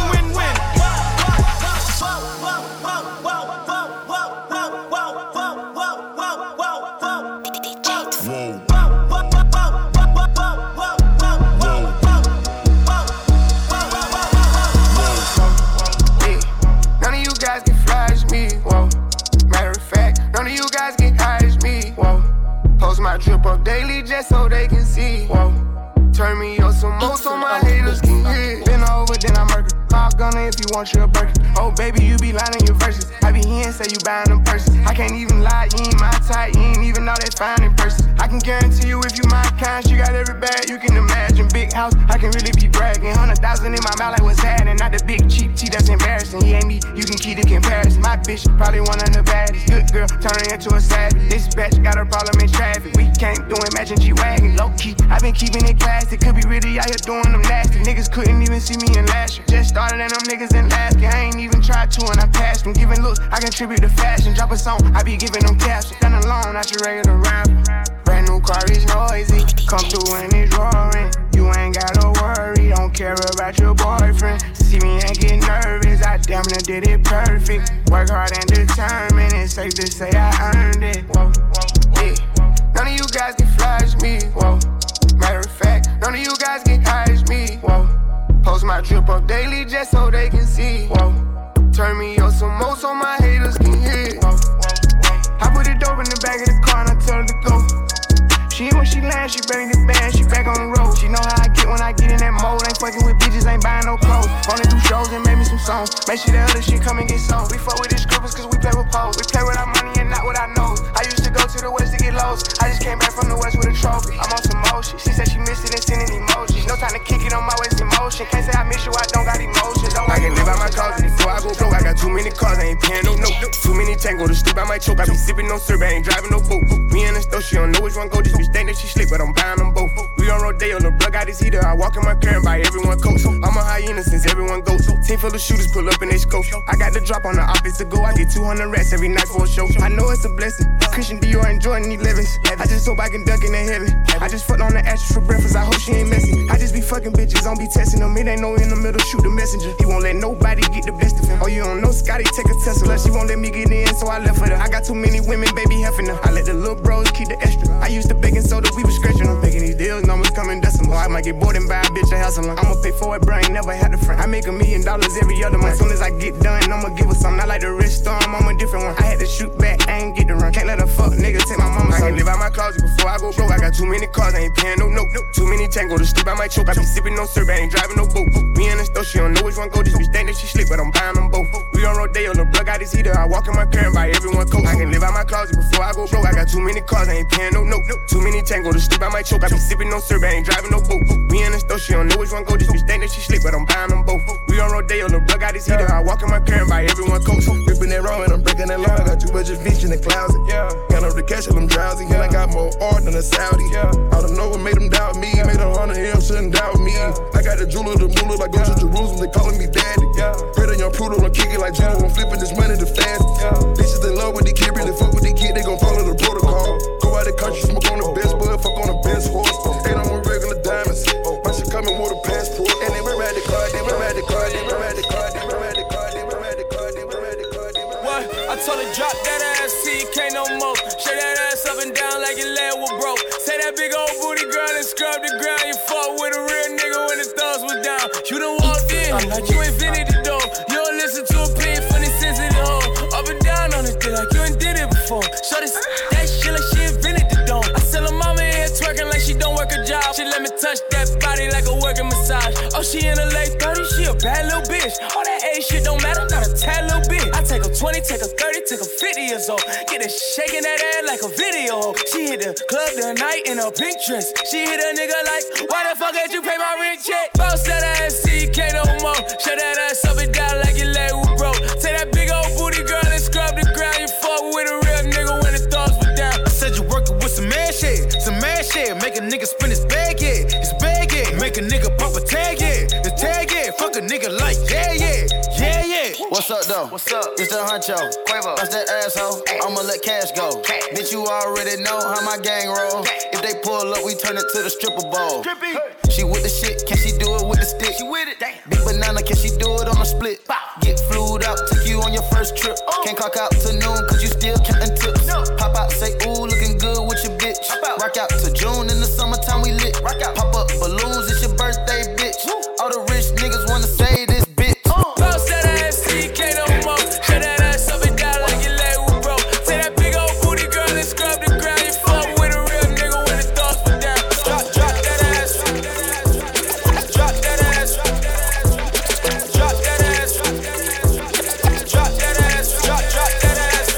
None of you guys can flash me, whoa. Matter of fact, none of you guys can hide me, whoa. Post my drip up daily just so they can see, whoa. Turn me up some more so my haters can hear. Been over, then I murder. Hog gunner if you want your burger. Oh baby, you be lying in your verses. I be hearing say you buying them purses. I can't even lie, you ain't my type. You ain't even know that fine in person. I can guarantee you if you my kind, she got every bag you can imagine. Big house, I can really be bragging. 100,000 in my mouth like what's happening. Not the big cheap tea that's embarrassing. He ain't me, you can keep the comparison. My bitch probably one of the baddest. Good girl, turning into a savage. This bitch got a problem in traffic. We can't do it, matching G-Wagon. Low key, I been keeping it classy. Could be really out here doing them nasty. Niggas couldn't even see me in last year. Just started and them niggas in last year. I ain't even tried to and I passed them. Giving looks, I contribute to fashion. Drop a song, I be giving them captions. Done alone, not your regular rapper. Brand new car is noisy. Come through and it's roaring. You ain't gotta worry, don't care about your boyfriend. See me and get nervous, I damn near did it perfect. Work hard and determined, it's safe to say I earned it. Whoa, yeah. None of you guys can flash me, whoa. Matter of fact, none of you guys can hide me, whoa. Post my drip up daily just so they can see, whoa. Turn me up some more so my haters can hear, whoa. I put the dope in the back of the car and I tell her to go. She when she lands, she bring the band, she back on the road. She know how I get when I get in that mode. Ain't fucking with bitches, ain't buying no clothes. Only do shows and make me some songs. Make sure the other shit come and get sold. We fuck with these scribbles cause we play with poles. We play with our money and not with our nose. I used to go to the west to get lost. I just came back from the west with a trophy. I'm on some motion. She said she missed it and sending emojis. No time to kick it on my waist in motion. Can't say I miss you, I don't got emotions. I can live out my closet before I go broke. I got too many cars, I ain't paying no note. Too many tango to sleep, I might choke. I be sipping no syrup, I ain't driving no boat. Me and the stove, she don't know which one go. Just be think that she slick, but I'm buying them both. We on Rodeo, the plug got his heater. I walk in my car and buy everyone coats. I'm a hyena since everyone goes. Team full of shooters pull up in they scope. I got the drop on the office to go. I get 200 rats every night for a show. I know it's a blessing. Christian Dior and Jordan 11s. I just hope I can duck in the heaven. I just fucked on the ashes for breakfast. I hope she ain't messy. I just be fucking bitches, don't be testing them. It ain't no in the middle, shoot the messenger. He won't let nobody get the best of him. Oh, you don't know Scotty, take a Tesla. She won't let me get in, so I left her. I got too many women, baby, heffing her. I let the little bros keep the extra. I used the baking soda, we was scratching them. Making these deals, numbers coming decimal. I might get bored and buy a bitch a house alone. I'ma pay for it, bro, I ain't never had a friend. I make $1 million every other month. As soon as I get done, I'ma give her something. I like the rich storm, I'm a different one. I had to shoot back, I ain't get to run. Can't let a fuck nigga take my mama. I can live out my closet before I go broke. I got too many cars, I ain't paying no note. Too many tango to sleep, I might choke. I be sipping no syrup, I ain't driving no boat. Me and the stove, she don't know which one go. Just be think that she slick, but I'm buying them both. We on Rodeo, the plug got his heater. I walk in my car and buy everyone coat. I can live out my closet before I go broke. I got too many cars, I ain't paying no note. Too many tango to sleep, I might choke. I be sipping no syrup, I ain't driving no boat. Me and the stove, she don't know which one go. Just be think that she slick, but I'm buying them both. We on Rodeo, the plug got his heater. I walk in my car and buy everyone coat. Ripping that wrong and I'm breaking that law. I got too much fish in the closet. Count up the cash till I'm drowsy. And I got more art than a Saudi. I don't know what made them doubt me. Made 100 M, shouldn't doubt me. I got the jeweler, the moolah, like go to Jerusalem, they calling me daddy. Pray to young Pluto, I'm kicking like Judo, I'm flipping this money the fast. Bitches in love with the kid, really fuck with the kid, they gon' follow the protocol. Go out the country, smoke on the best bud, fuck on the best horse. Ain't on my regular diamonds. My shit coming with a passport. And they were at the car, they were at the car, they were at the car, they were at the car, they were at the car, they were at the car, they were at the car. What? I told her drop that ass, TK no more. Shake that ass up and down like your leg was broke. Say that big old booty girl and scrub the ground. You fought with a real nigga when his thumbs was down. You done walked in, you invented the door. You don't listen to a plea for the sensitive hoe. Up and down on this thing like you ain't did it before. Show this that shit like she invented the dome. I tell her mama here twerking like she don't work a job. She let me touch that body like a working massage. Oh, she in her late 30s, she a bad little bitch. All that age shit don't matter, not a tad little bit. I take her 20, take her 30, take her 50 years old. Get her shaking that ass like a video. She hit the club tonight in a pink dress. She hit a nigga like, why the fuck did you pay my rent check? Bounce that ass, TK no more. Shut that ass up and down like your leg was broke. Take that big old booty girl and scrub the ground. You fuck with a real nigga when his thumbs were down. I said you working with some mad shit. Make a nigga spin his bag, yeah. His bag, yeah. Make a nigga pop a tag, yeah. His tag, yeah. Fuck a nigga like, yeah, yeah. Yeah, yeah. What's up, though? What's up? It's the Huncho. Quavo. That's that asshole. I'ma let cash go. Bitch, you already know how my gang roll. If they pull up, we turn it to the stripper bowl. She with the shit, can she do it with the stick? She with it. Big banana, can she do it on a split? Get flued out, took you on your first trip. Can't clock out to noon, cause you still counting tips. Pop out, say, ooh, looking good with your bitch. Rock out to June, in the summertime we lit. Pop up balloons, it's your birthday, bitch. All the rich niggas wanna say this, bitch. Bounce that ass, TK no more. Shut that ass up and down like your leg was broke. Take that big old booty girl and scrub the ground. You fuck with a real nigga when his thoughts were down. Drop that ass. Drop that ass. Drop that ass. Drop that ass. Drop that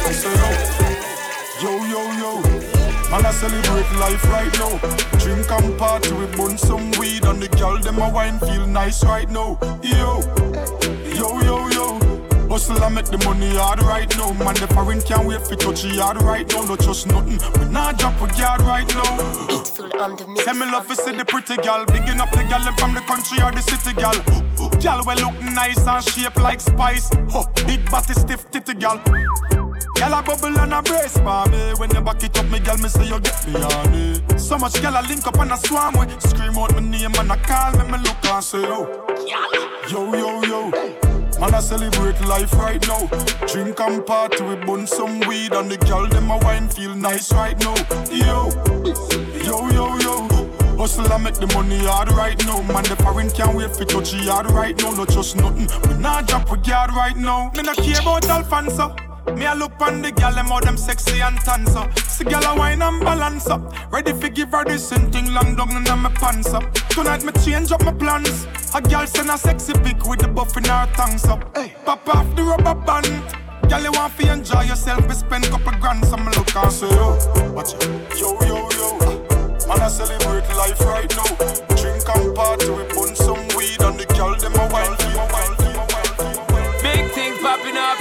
ass. Yo, yo, yo. Man, I celebrate life right now. Drink and party, we burn some weed. And the girl, them a wine feel nice right now. Yo, yo, yo, yo. Hustle and make the money hard right now. Man, the foreign can't wait for touch the yard right now. No trust nothing, we not drop a yard right now. Say me love to see the pretty gal. Bigging up the gal from the country or the city gal. Gal we look nice and shape like spice. Big body stiff titty gal. Gal a bubble and a brace for me. When you back it up, me gal, me say you get me on it. So much gal a link up and a swarm with. Scream out my name and a call me look and say yo. Yo, yo, yo. Man, I celebrate life right now. Drink and party, we burn some weed. And the gal, them a wine feel nice right now. Yo, yo, yo, yo. Hustle and make the money hard right now. Man, the foreign can't wait for touch the yard right now. No trust nothing, we not drop a yard right now. Me not care about Alfonso. Me a look on the gal, them how them sexy and tan so. See gal a wine and balance up. Ready for give her this same thing long down in my pants up. Tonight me change up my plans. A gal send a sexy pic with the buff in her tongues up. Hey, pop off the rubber band. Gal you want to enjoy yourself, we spend couple grand. So me look and say yo, watch it. Yo, yo, yo. Man I celebrate life right now. Drink and party, we burn some weed. And the gal them a wine. Big things popping up.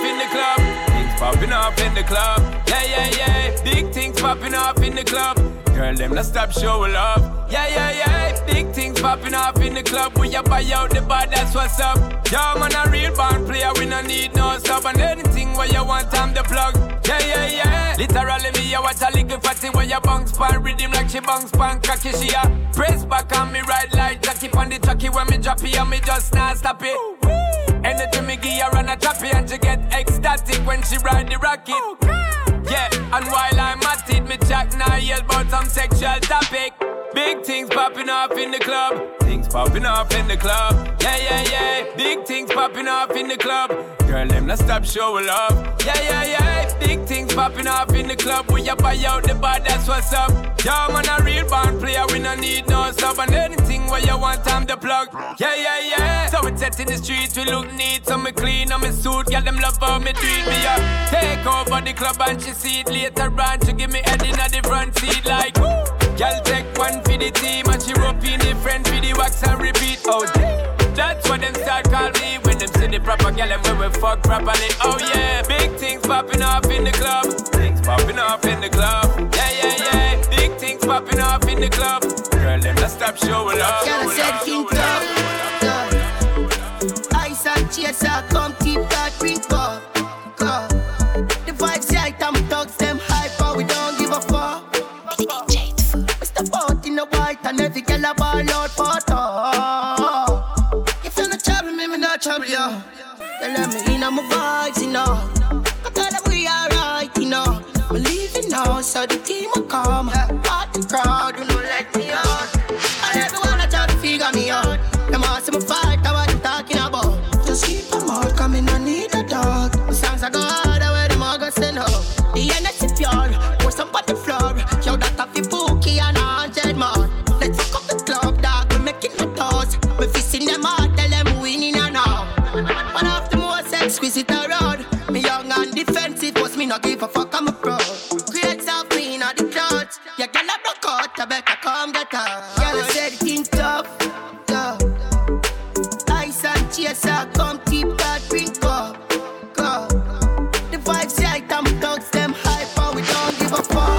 off in the club. Yeah, yeah, yeah. Big things popping off in the club. Girl, them not stop showing love. Yeah, yeah, yeah. Big things popping off in the club. We a buy out the bar, that's what's up. Yo, man, a real band player, we no need no sub. And anything where you want, I'm the plug. Yeah, yeah, yeah. Literally, me, I watch a little fatty where you bounce pan rhythm like she bounce pan cocky. She a press back on me right like Jackie on the tracky when me drop it and me just not stop it. Anything me give her on a choppy and she get ecstatic when she ride the rocket. Yeah, and while I'm at it, me chat now yell about some sexual topic. Big things popping off in the club. Things popping off in the club. Yeah, yeah, yeah. Big things popping off in the club. Girl, them not stop showing love. Yeah, yeah, yeah. Big things popping off in the club. We a buy out the bar, that's what's up. Yo, man, a real band player, we no need no sub. And anything where you want, I'm the plug. Yeah, yeah, yeah. So we set in the streets, we look neat. So me clean on me suit, girl, them love how me treat me up. Take over the club and she see it later on. She give me head in the front seat like, woo. Girl, take one for the team and she rope in the friend for the wax and repeat. Oh, that's what them start call me when them see the proper girl and when we fuck properly. Oh yeah, big things popping off in the club. Things popping off in the club. Yeah, yeah, yeah. Big things popping off in the club. Girl, them not stop showing love. Girl, I said king top. Ice and chaser, come keep that drink up. The vibes right, I'm thugs, them hyper, we don't give a fuck. In the white and every girl a ball out for talk. If you not trouble me, me not trouble you. They let me in on my vibes, you know. I tell them we alright, you know. We leaving now, so the team will come. Part the crowd, you know, let me out. And everyone a try to figure me out. Them all see me fight, that's what I'm talking about. Just keep them out, come in, I need a dog. The songs I go harder where them all go send up. The energy pure, pour some on the floor. Yo, that a fi bookie and more. Let's fuck up the club, dog. We making the toes. We fisting them out, tell them winning and all. One of the most exquisite around. Me young and defensive, but me not give a fuck, I'm a pro. Create self clean on the clothes. Yeah, girl, I broke out, I better come get her. Girl, I said it in tough, tough. Ice and chaser, come keep that drink up, go. The vibes right, I'm thugs, them hyper, we don't give a fuck.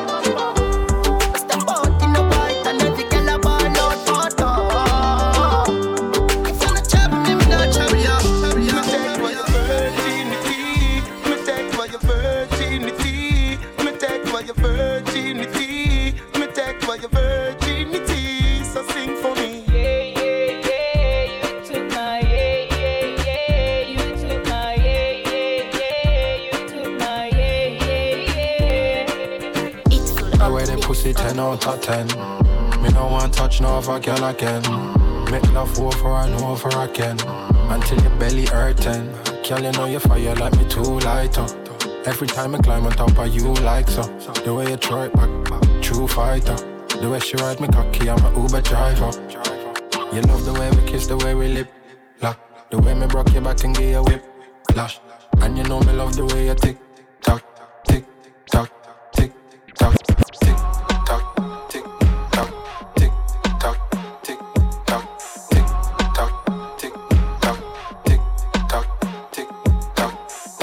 pussy 10 out of 10. Me no want touch no other girl again. Make love over and over again until your belly hurting. Girl, you know you fire like me too light up. Every time I climb on top of you like so. The way you throw it back, true fighter. The way she ride me cocky, I'm a Uber driver. You love the way we kiss, the way we lip lock. The way me broke your back and give you whip lash. And you know me love the way you tick tock, tick tock, tick tock, tick tock, tick tock, tick tock, tick tock, tick tock, tick tock, tick tock, tick tock.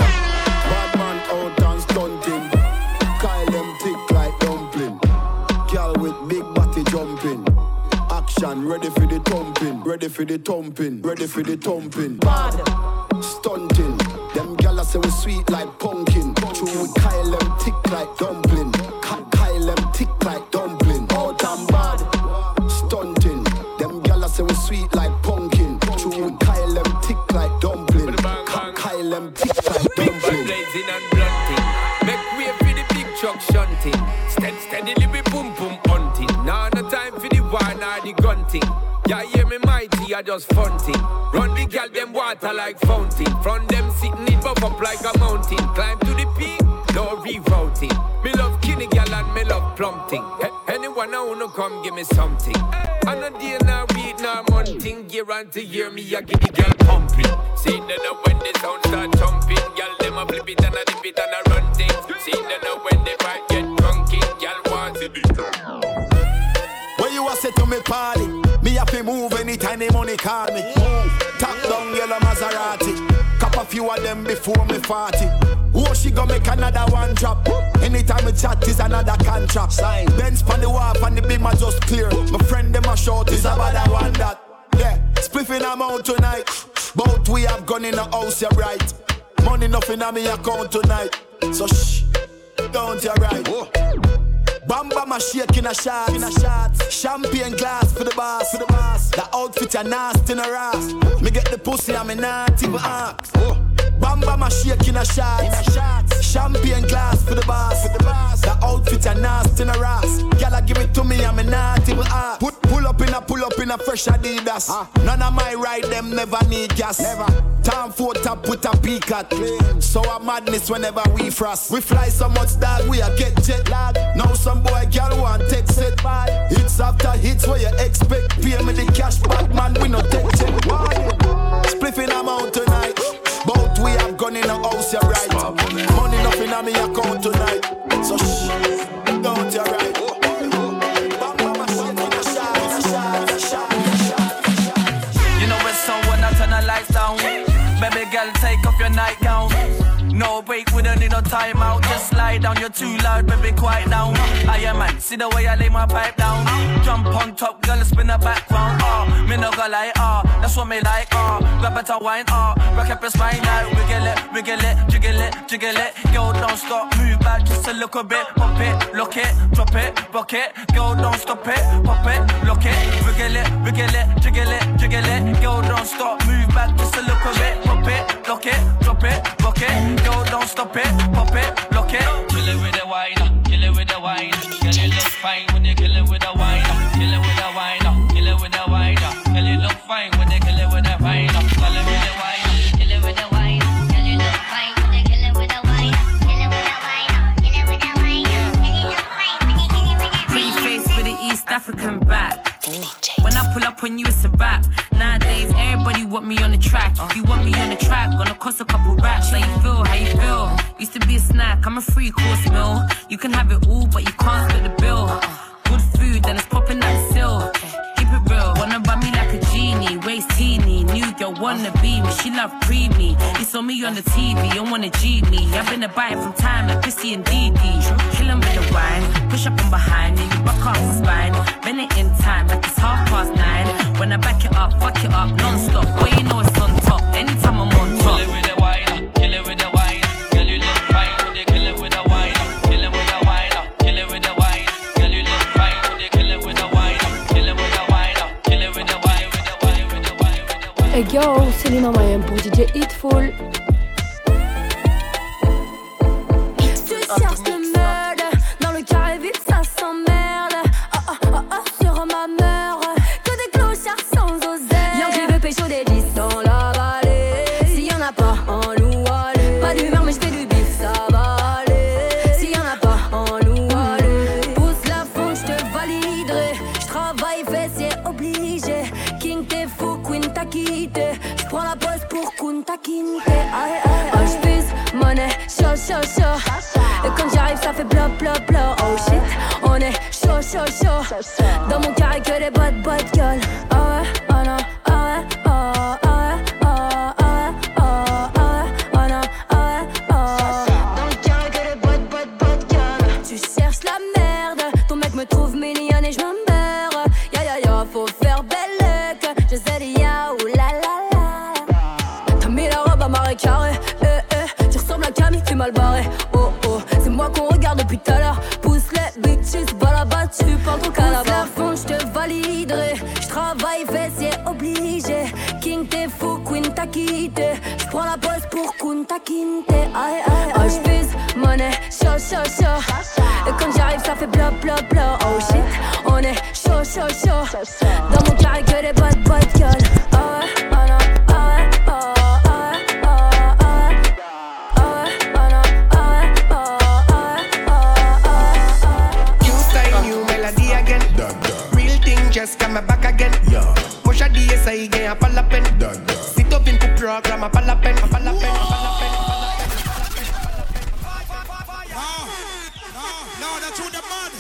Bad man out and stunting. Kyle them tick like dumpling. Girl with big body jumping. Action ready for the thumping, ready for the thumping, ready for the thumping. Bad stunting. Them gala say we sweet like pumpkin. True with Kyle them tick like dumpling. Kyle them tick like dumpling. Oh damn bad stunting. Them gala say we sweet like pumpkin. True with Kyle them tick like dumpling. Kyle them tick like dumpling. Blazing and blunting. Make way for the big truck shunting. Steadily we boom boom hunting. Now no time for the wine or the gun thing. Yeah, hear me mighty, I just fun thing. Run the girl, them water like fountain. From them sitting it buff up like a mountain. Climb to the peak, no rerouting. Me love kinny girl and me love plumping. Anyone I wanna come give me something. And a day now week now monthing. Year on to year me I get the girl pumping. See them now when the sound start jumping. Girl them a flip it and a dip it and a run things. See them now when the fight get drunky. Girl wants it. When you a say to me party, me have to move anytime the money call me. Top down yellow Maserati, cop a few of them before me 40. Oh, she gon' make another one drop. Anytime we chat is another contract. Sign. Benz pan the wharf and the beam are just clear. My friend them a short is about that one that. Yeah, spliffing I'm out tonight. Both we have gone in the house, you're right. Money nothing on me account tonight. So shh, don't you right. Whoa. Bamba my shake in a shot. Champagne glass for the boss. The outfit a nasty in a ass. Me get the pussy and me not even ask. Bamba my shake in a shot. Champagne glass for the boss. The outfit a nasty in a ass. Gyal give it to me and me not even ask. Pull up in a fresh Adidas. None of my ride them never need gas. Never. Time for top with a peak at. So a madness whenever we frost. We fly so much dog we a get jet lag. Now some boy girl want take set bad. Hits after hits where you expect. Pay me the cash back man we no take check. Spliffing I'm out tonight. Both we have gone in the house you're right. Money nothing on me account tonight. So shh, don't you right. You know it's so when I turn the lights down. Baby girl, take off your nightgown. No break, we don't need no time out. Just lie down, you're too loud, baby, quiet down. I am man, see the way I lay my pipe down. Jump on top, girl, spin the background. Me no go like, that's what me like, grab better wine, rock up your spine out. Wiggle it, jiggle it. Girl, don't stop, move back just a little bit. Pop it, lock it, drop it, rock it. Girl, don't stop it, pop it, lock it. Wiggle it, jiggle it. Girl, don't stop, move back just a little bit. Pop it, lock it, drop it, rock it. Girl, don't stop it, pop it, lock it. Kill it with the wine, kill it with the wine. Girl, you look fine when you kill it with the wine. Kill it with the wine, kill it with the wine. Girl, you look fine when you kill it with the wine. Kill it with the wine, kill it with the wine. Girl, you look fine when you kill it with the wine. Kill it with the wine, kill it with the wine. Girl, you look fine when you kill it with the wine. Pretty face with the East African back. When I pull up on you, it's a wrap. Nowadays, everybody want me on the track. If you want me on the track, gonna cost a couple raps. How you feel? How you feel? Used to be a snack, I'm a 3-course meal. You can have it all, but you can't split the bill. Good food, then it's popping at the sill. Keep it real, wanna run me like a genie. Waist teeny, new girl wanna be me. She love creamy. You saw me on the TV, you wanna G me. I've been a bite from time like Chrissy and Dee. Kill 'em with the wine, push up from behind, and you buck off the spine. Been it in time, like it's 9:30. When I back it up, fuck it up, non-stop. Boy, you know it's on top, anytime I'm on top. Kill it with the wine, kill it with the wine. Girl, you look fine when you kill it with the wine. Kill it with the wine, kill it with the wine. Girl, you look fine when you kill it with the wine. Kill it with the wine, kill it with the wine, with the wine, with the wine, with the wine. Hey yo, c'est Lina Mayhem pour DJ Hitful. Tu cherches le meurtre, dans le carré vide ça s'emmerde. Sur ma mère, que des clochards sans oseille. Y'en qui veut pécho des 10 dans la vallée. S'il y en a pas, en loup allez. Pas d'humeur mais j'fais du bif, ça va aller. S'il y en a pas, en loup allez. Pousse la fonte, j'te validerai. J'travaille fessier obligé. King t'es fou, Queen t'as quitté. J'prends la pause pour Kunta Kinte. Oh j'pisse, monnaie, chaud. Et quand j'arrive ça fait bla bla bla. Oh shit, on est chaud. Dans mon carré que des bad gueule. Ah ouais, oh non, ah ouais, oh ouais, oh ouais, oh non, ah ouais, dans le carré que des bad gueule. Tu cherches la merde, ton mec me trouve mignonne et je me meurs. Ya, faut faire belle que je sais ya, ou la. T'as mis la robe à marée carré, tu ressembles à Camille, tu mal barré. Oh, c'est moi qu'on regarde depuis tout à l'heure. Pousse les bitches, bas là-bas, tu parles ton calabar. Pousse la fonte, j'te validerai. J'travaille fessier obligé. King t'es fou, Queen t'as quitté. J'prends la pause pour Kunta Kinte. Oh j'pisse, monnaie, chaud. Et quand j'arrive ça fait bla bla bla. Oh shit, on est chaud. Dans mon carré que des bad gueule. Oh ouais, oh non, oh ouais, oh ouais, oh ouais, oh ouais. New style, new melody again. Real thing just come back again. Push a DSI again, pas la peine. Sit up in pour programme, pas la peine. No, that's who the man.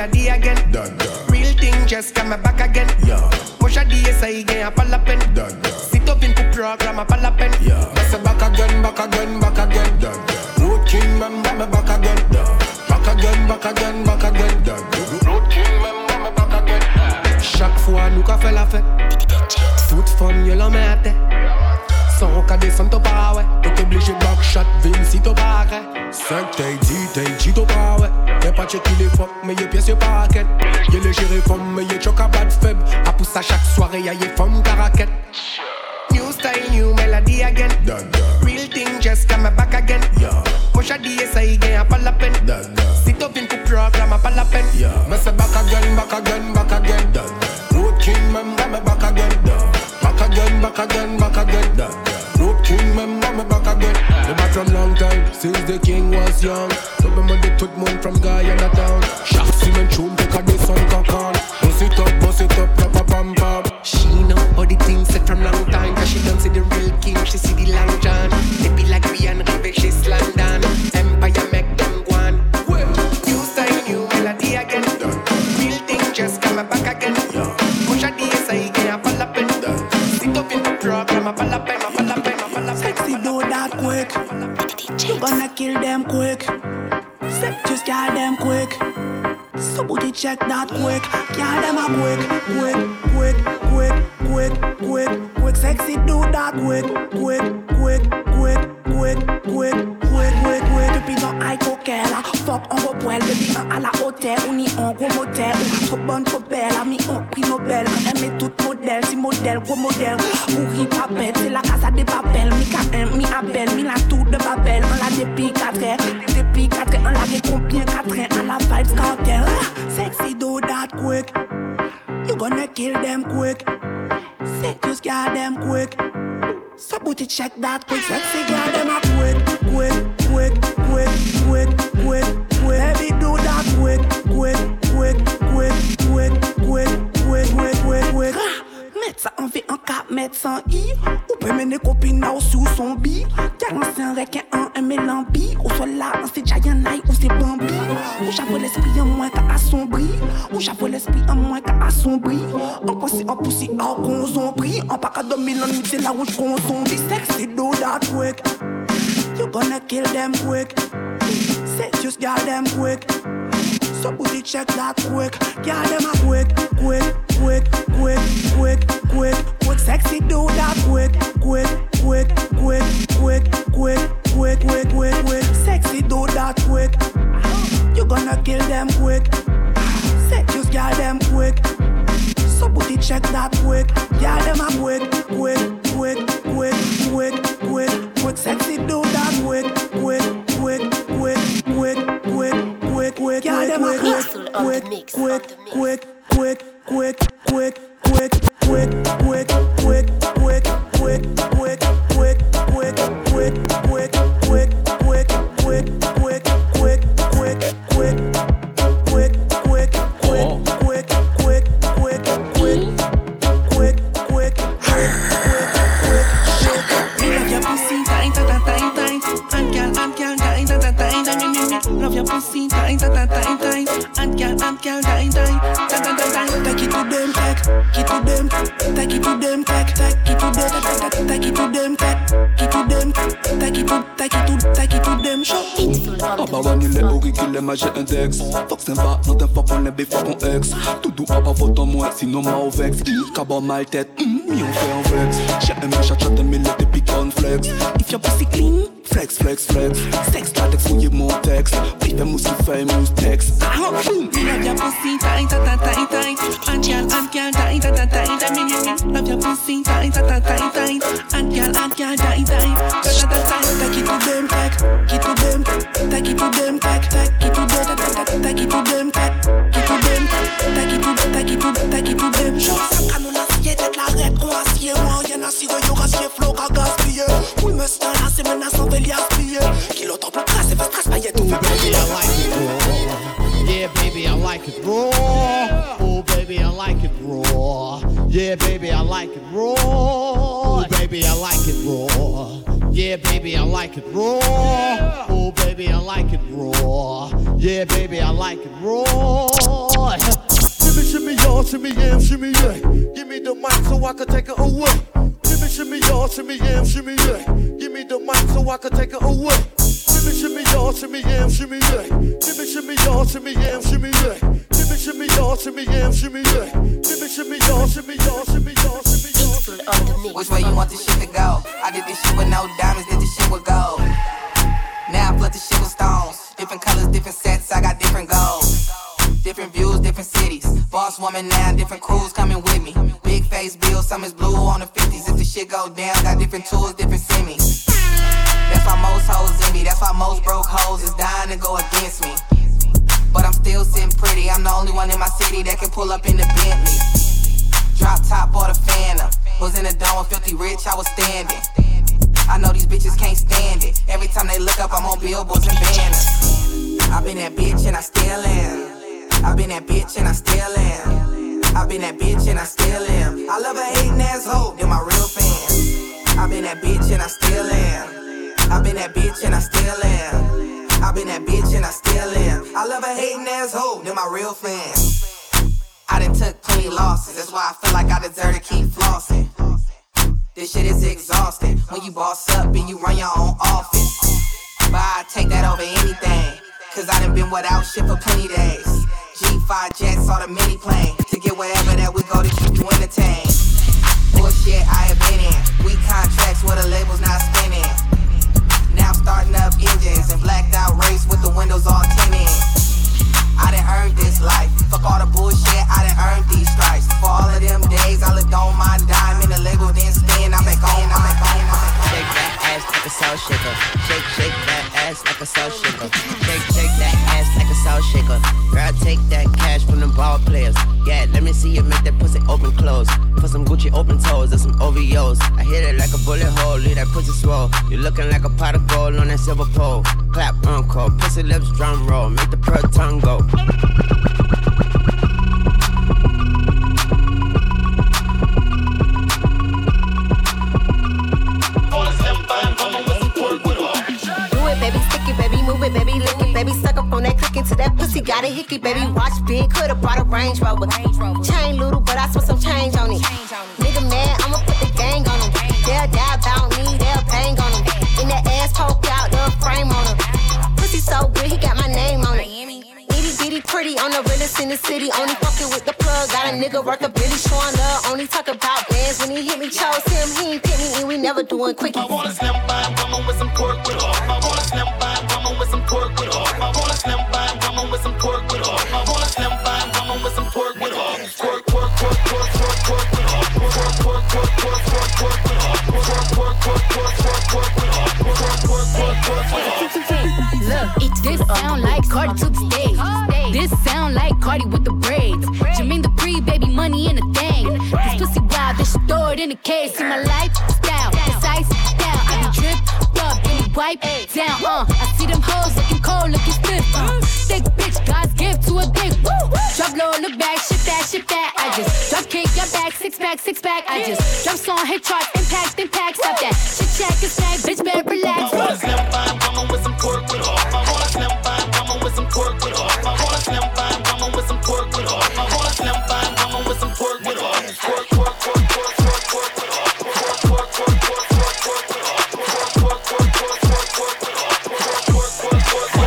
melody again. Real thing just come back again. Much of the essay again, I pull up in. Sit up in the program, I pull up in. I say back again, back again, back again. Road King, man, back again. Back again, back again, back again. Road King, man, back again. Chaque fois, nous qu'a fait la fête. Toute femme, y'a l'en mette. Sans qu'à descendre au pas, ouais. T'es obligé de backshot, Vinci t'au pas, ouais. 5 t'es dit t'au pas, ouais. T'es pas checké les fuck, mais y'a pièce y'a pas ken. Y'a les gérés femmes, mais y'a choc à bad faible. A pousse à chaque soirée, y'a y'a femme caraquette. New style, new melody again. Real thing just come back again. Much of the essay again, I pull up in. Sit up in the program, I pull up in. Me say back again, back again, back again. Road King, man, back again. Back again, back again, back again. Road King, man, back again. Me back from long time, since the king was young. Remember the tout monde from Guyana town. Chaque semaine tune, take a day sun cock-on. Bust it up, proper pam pam. She know all the things said from long time. Cause she don't see the real king, she see the long john. They be like Rihanna, River, she's London. Empire make them go on. New style, new melody again. Real thing just come back again. Push a DS again, I fall up in. Sit up in the program, I fall up in, I fall up in, I fall up in. Sexy do that quick. You gonna kill them quick. Sex just got them quick. So booty check that quick. Kill them a quick. Sexy do that quick. Depuis dans high coquel, fuck on va poil. Depuis un à la hôtel, on y en gros motel. Trop bonne, trop belle, ami on prix Nobel. On aime tout modèle, si modèle, gros modèle. Pourri papel, c'est la casa des papels. Mi K1, mi Abel, mi la tour de Babel. On l'a depuis 4 heures, on l'a fait combien 4 heures. On la vibes cartel. Sexy do that quick. You gonna kill them quick. Sick just got them quick. So booty check that quick. Sexy got them a quick. Baby do that quick. Mettre ça en V, en 4 mètres sans I. Ou peut mener copine sous son bi. Y'a l'ancien requin un mélambi. Ou soit là, c'est Giant Night ou c'est Bambi. Ou j'avoue l'esprit en moins qu'à assombri. Ou j'avoue l'esprit en moins qu'à assombri. En poussi, en consombri. En pas qu'à 2000 ans, c'est là où j'consombri. Sexy do that quick. You gonna kill them quick. Say just got them quick. So booty check that quick. Got them a quick. Sexy do that quick. Sexy do that quick. You gonna kill them quick. Say just got them quick. So booty check that quick. Got them a quick. Sexy do that quick. Got them a Love your pussy, time, time, time, time. And girl, die. Take it to them, take it to them, take it to them, take it to them, take it to them, take it to them, show. Abba wanile orikile maje index. Fuck sympa, not un fuck on les fuck on ex. Tout doux abba vote en moi, sinon ma au vex. Cabot mal tête, mi on fait un vex. J'ai un chat mais le dépi flex. If your pussy clean, flex. Sex latex fouiller mon texte. Puis fais moussi fait mousse texte. Boom. Love your pussy tight. And girl, die. Love your pussy tight. And girl, die. Take it to them, take it to them, take it to them, take it to them, take it to them. Show ça canon assiette, tête la rête, on assied. Moi, y'en a si yo rassied, flow, qu'a gaspillé. Oui, me stun là, c'est maintenant sans veille aspillé. Kilo temps pour tracer, fait stress, paillette, tout fait payer. Yeah, baby, I like it raw. Oh, baby, I like it raw. Yeah, baby, I like it raw. Oh, baby, I like it raw. Yeah, baby, I like it raw. Oh, baby, I like it raw. Yeah, baby, I like it raw. y'all, shimmy yam, shimmy yeah. Give me the mic so I can take it away. Shimmy y'all, shimmy yam, shimmy yeah. Give me the mic so I can take it away. Shimmy y'all, shimmy yam, shimmy yeah. Shimmy y'all, shimmy yam, shimmy yeah. Shimmy y'all, shimmy yam, shimmy yeah. Shimmy y'all, shimmy y'all, shimmy y'all, shimmy y'all. Which way you want this shit to go? I did this shit with no diamonds, did this shit with gold. Now I flood this shit with stones. Different colors, different sets, I got different goals. Different views, different cities. Boss woman now, different crews coming with me. Big face bill, some is blue on the 50s. If the shit go down, got different tools, different semis. That's why most hoes in me. That's why most broke hoes is dying to go against me. But I'm still sitting pretty. I'm the only one in my city that can pull up in the Bentley. Drop top or the Phantom. Was in the dome with Filthy Rich, I was standing. I know these bitches can't stand it. Every time they look up, I'm on billboards and banners. I've been that bitch and I still am. I've been that bitch and I still am. I've been that bitch and I still am. I love a hating asshole, they're my real fans. I've been that bitch and I still am. I've been that bitch and I still am. I've been that bitch and I still am. I love a hating asshole, they're my real fans. I done took plenty losses, that's why I feel like I deserve to keep flossing. This shit is exhausting when you boss up and you run your own office. But I take that over anything, cause I done been without shit for plenty days. G5 jets or the mini plane to get wherever that we go to keep you entertained. Bullshit I have been in, weak contracts where the label's not spinning. Now I'm starting up engines and blacked out race with the windows all tinted. I done earned this life, fuck all the bullshit, I done earned these stripes. For all of them days I looked on my dime and the label didn't spin, I'm back on, I'm back on, I'm back on. Shake that ass like a soul shaker. Shake that ass like a soul shaker. Shake that ass like a soul shaker. Girl, take that cash from the ball players. Yeah, let me see you make that pussy open close. For some Gucci open toes and some OVOs. I hit it like a bullet hole, leave that pussy swole. You looking like a pot of gold on that silver pole. Clap, encore, pussy lips, drum roll. Make the pearl tongue go. Baby, lick it, baby, suck up on that click into that pussy, got a hickey, baby, watch big, could've brought a Range Rover. Chain little, but I spent some change on it. Nigga mad, I'ma put the gang on him. They'll die about me, they'll bang on him. In that ass poke out, the frame on him. Pussy so good, he got my name on it. Itty bitty pretty, on the realest in the city. Only fucking with the plug, got a nigga worth a Billy showing love. Only talk about bands when he hit me, chose him, he ain't pick me, and we never doing quickie. I wanna slim by a woman with some pork with her. I wanna slim by a woman with some pork with her. I wanna slim by a woman with some pork with her. I wanna slim by a woman with some pork with her. Pork, pork, pork, pork, pork, pork with her. Pork, pork, pork, pork, pork, pork with her. Pork, pork, pork, pork, pork, pork with her. Pork, pork, pork, pork, pork with her. Look, this sound like Cardi to the stage. This sound like Cardi with the braids. Jermaine Dupri, baby, money in a thing. This pussy wild, this shit throw it in the case. See my lifestyle, precise down. I be dripped up, then we wipe down. I see them hoes looking cold, looking stiff. Thick bitch, God's gift to a dick. Drop low, look back, shit that, shit that. I just drop kick your back, six pack. I just drop song, hit charts, impact, stop that. Shit check and snack, bitch, better relax. I wanna slim by a woman with some pork with her. I wanna slim by a woman with some pork with her. I wanna slim by a woman with some pork with her. I wanna slim by a woman with some pork with her. Pork, pork, pork, pork, pork, pork with her. Pork, pork, pork, pork, pork, pork with her. Pork, pork, pork, pork, pork, pork with her. Pork, pork, pork, pork,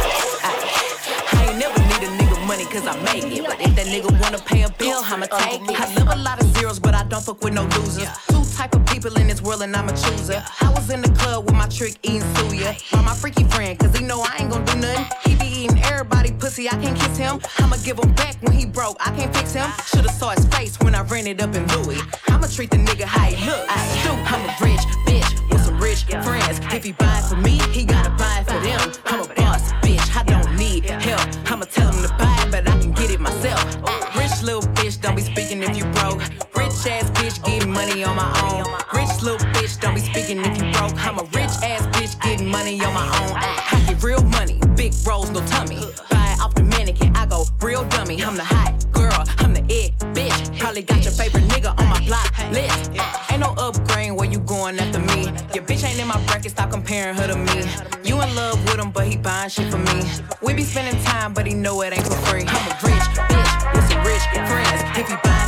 pork. I ain't never need a nigga money cause I make it. But if that nigga wanna pay a bill, I'ma take it. I live a lot of zeros, but I don't fuck with no losers. Two type of people in this world and I'm a chooser. I was in the club with my trick eating suya. By my freaky friend, cause he know I ain't gon' do nothing. He be eating everybody pussy, I can't kiss him. I'ma give him back when he broke, I can't fix him. Should've saw his face when I ran it up in Louis. I'ma treat the nigga how he look. I'm a rich bitch with some rich friends. If he buy for me, he gotta buy for them. I'm a boss bitch, I don't need help. I'ma tell him to buy it, but I can get it myself. Rich little bitch, don't be speaking if you broke. Rich ass bitch getting money on my own. Rich little bitch, don't be speaking if you broke. I'm a rich ass bitch getting money on my own. I get real money, big rolls, no tummy. Buy it off the mannequin, I go real dummy. I'm the hot girl, I'm the it bitch. Probably got your favorite nigga on my block list. Ain't no upgrade where you going after me. Your bitch ain't in my bracket, stop comparing her to me. You in love with him, but he buying shit for me. We be spending time, but he know it ain't for free. I'm a rich bitch with some rich friends. If he buy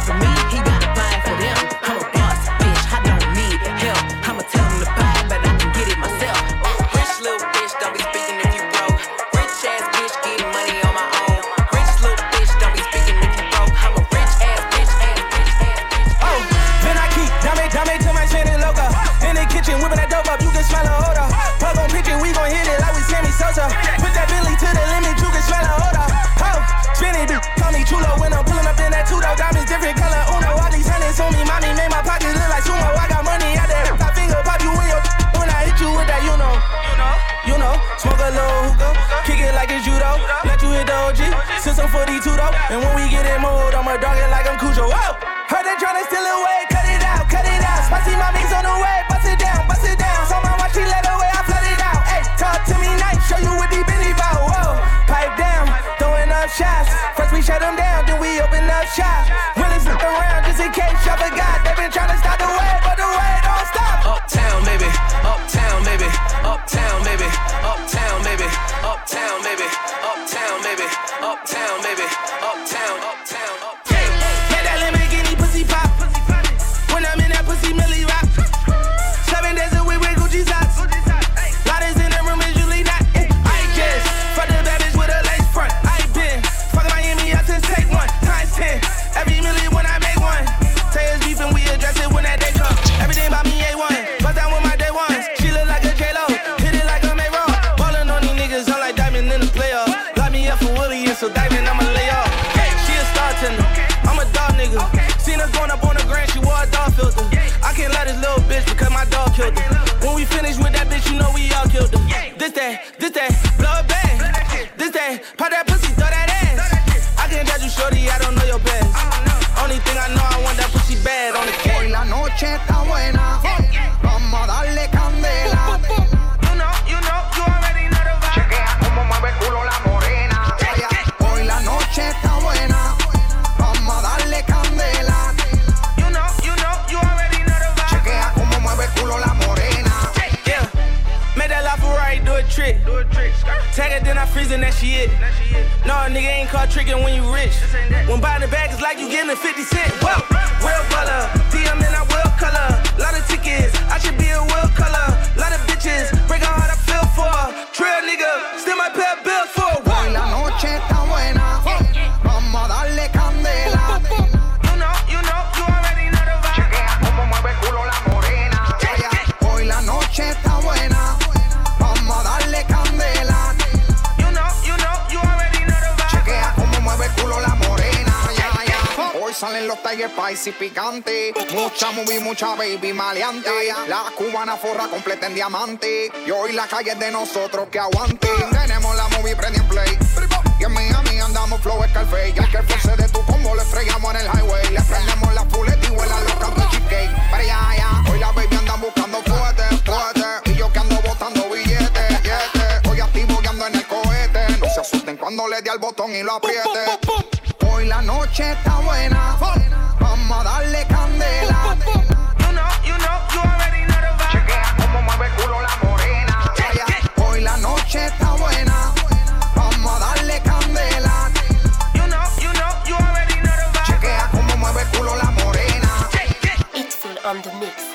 Since I'm 42 though, and when we get in mode, I'ma dog it like I'm Cujo. Whoa! Heard they tryna steal away, cut it out, cut it out. Spicy mommy's on the way, bust it down, bust it down. So my watch, she let away, I flood it out. Hey, talk to me nice, show you what deep in the bout. Whoa, pipe down, throwing up shots. First we shut them down, then we open up shop. Really slip around just in case y'all forgot. They been tryna stop the wave, but the wave don't stop. Uptown, baby, uptown, baby, uptown, baby, uptown, baby, uptown, baby, uptown, baby, uptown, baby, uptown, uptown, uptown. Make that Lamborghini pussy pop. When I'm in that pussy, Millie rock. 7 days a week with Gucci socks. Loudest in the room is usually not. I just fuck the bad bitch with a lace front. I been fucking Miami out since take one times 10. Every million when I make one. Say it's beef and we address it when that day come. Everything about me A1. Bust down with my day ones. She look like a J-Lo. Hit it like a May-Ro. Ballin' on these niggas, I'm like Diamond in the playoff. Lock me up for Willie and so Diamond I'ma lay off. Hey, she a star tender. I'm a dog nigga. Seen her going up on the grand, she wore a dog filter. I can't let this little bitch because my dog killed her. When we finish with that bitch, you know we all killed her. This that, blow a bang. This that, pop that pussy, throw that ass. I can't judge you, shorty, I don't know your best. Only thing I know, I want that pussy bad on the cake. Hoy la noche está buena, vamos a darle candela. You already know the vibe. Chequea cómo mueve el culo la morena. Hoy la noche está buena, vamos a darle candela. You already know the vibe. Chequea cómo mueve el culo la morena. Yeah, make that LaFerrari do a trick. Tag it, then I freeze and that she it. No, nigga ain't caught tricking when you rich. When buying the bag, it's like you getting a 50 cent. Whoa, real baller, DM and I will color. Lot of tickets, I should be a world color. Lot of bitches, break her heart, I feel for. Trail nigga, still my pay bills for. Hoy la noche está buena, vamos a darle candela. You already know the vibe. Chequea cómo mueve el culo la morena. Hoy la noche está buena, vamos a darle candela. You already know the vibe. Chequea cómo mueve el culo la morena. Hoy salen los Tiger Spicy picantes. Mucha movie, mucha baby maleante. La cubana forra completa en diamante. Y hoy la calle es de nosotros que aguante. Tenemos la movie prende en play. Y en Miami andamos flow Scarface. Y al que force de tu combo le estrellamos en el highway. Le prendemos la fuleta y vuelan los cantos cheesecake. Pero ya, hoy la baby andan buscando fuerte. Y yo que ando botando billetes. Hoy activo que ando en el cohete. No se asusten cuando le dé al botón y lo apriete. Hoy la noche está buena, vamos a darle candela. You already know the vibe. Chequea cómo mueve el culo la morena. Hoy la noche está buena, vamos a darle candela. You already know the vibe. Chequea cómo mueve el culo la morena. It's full on the mix.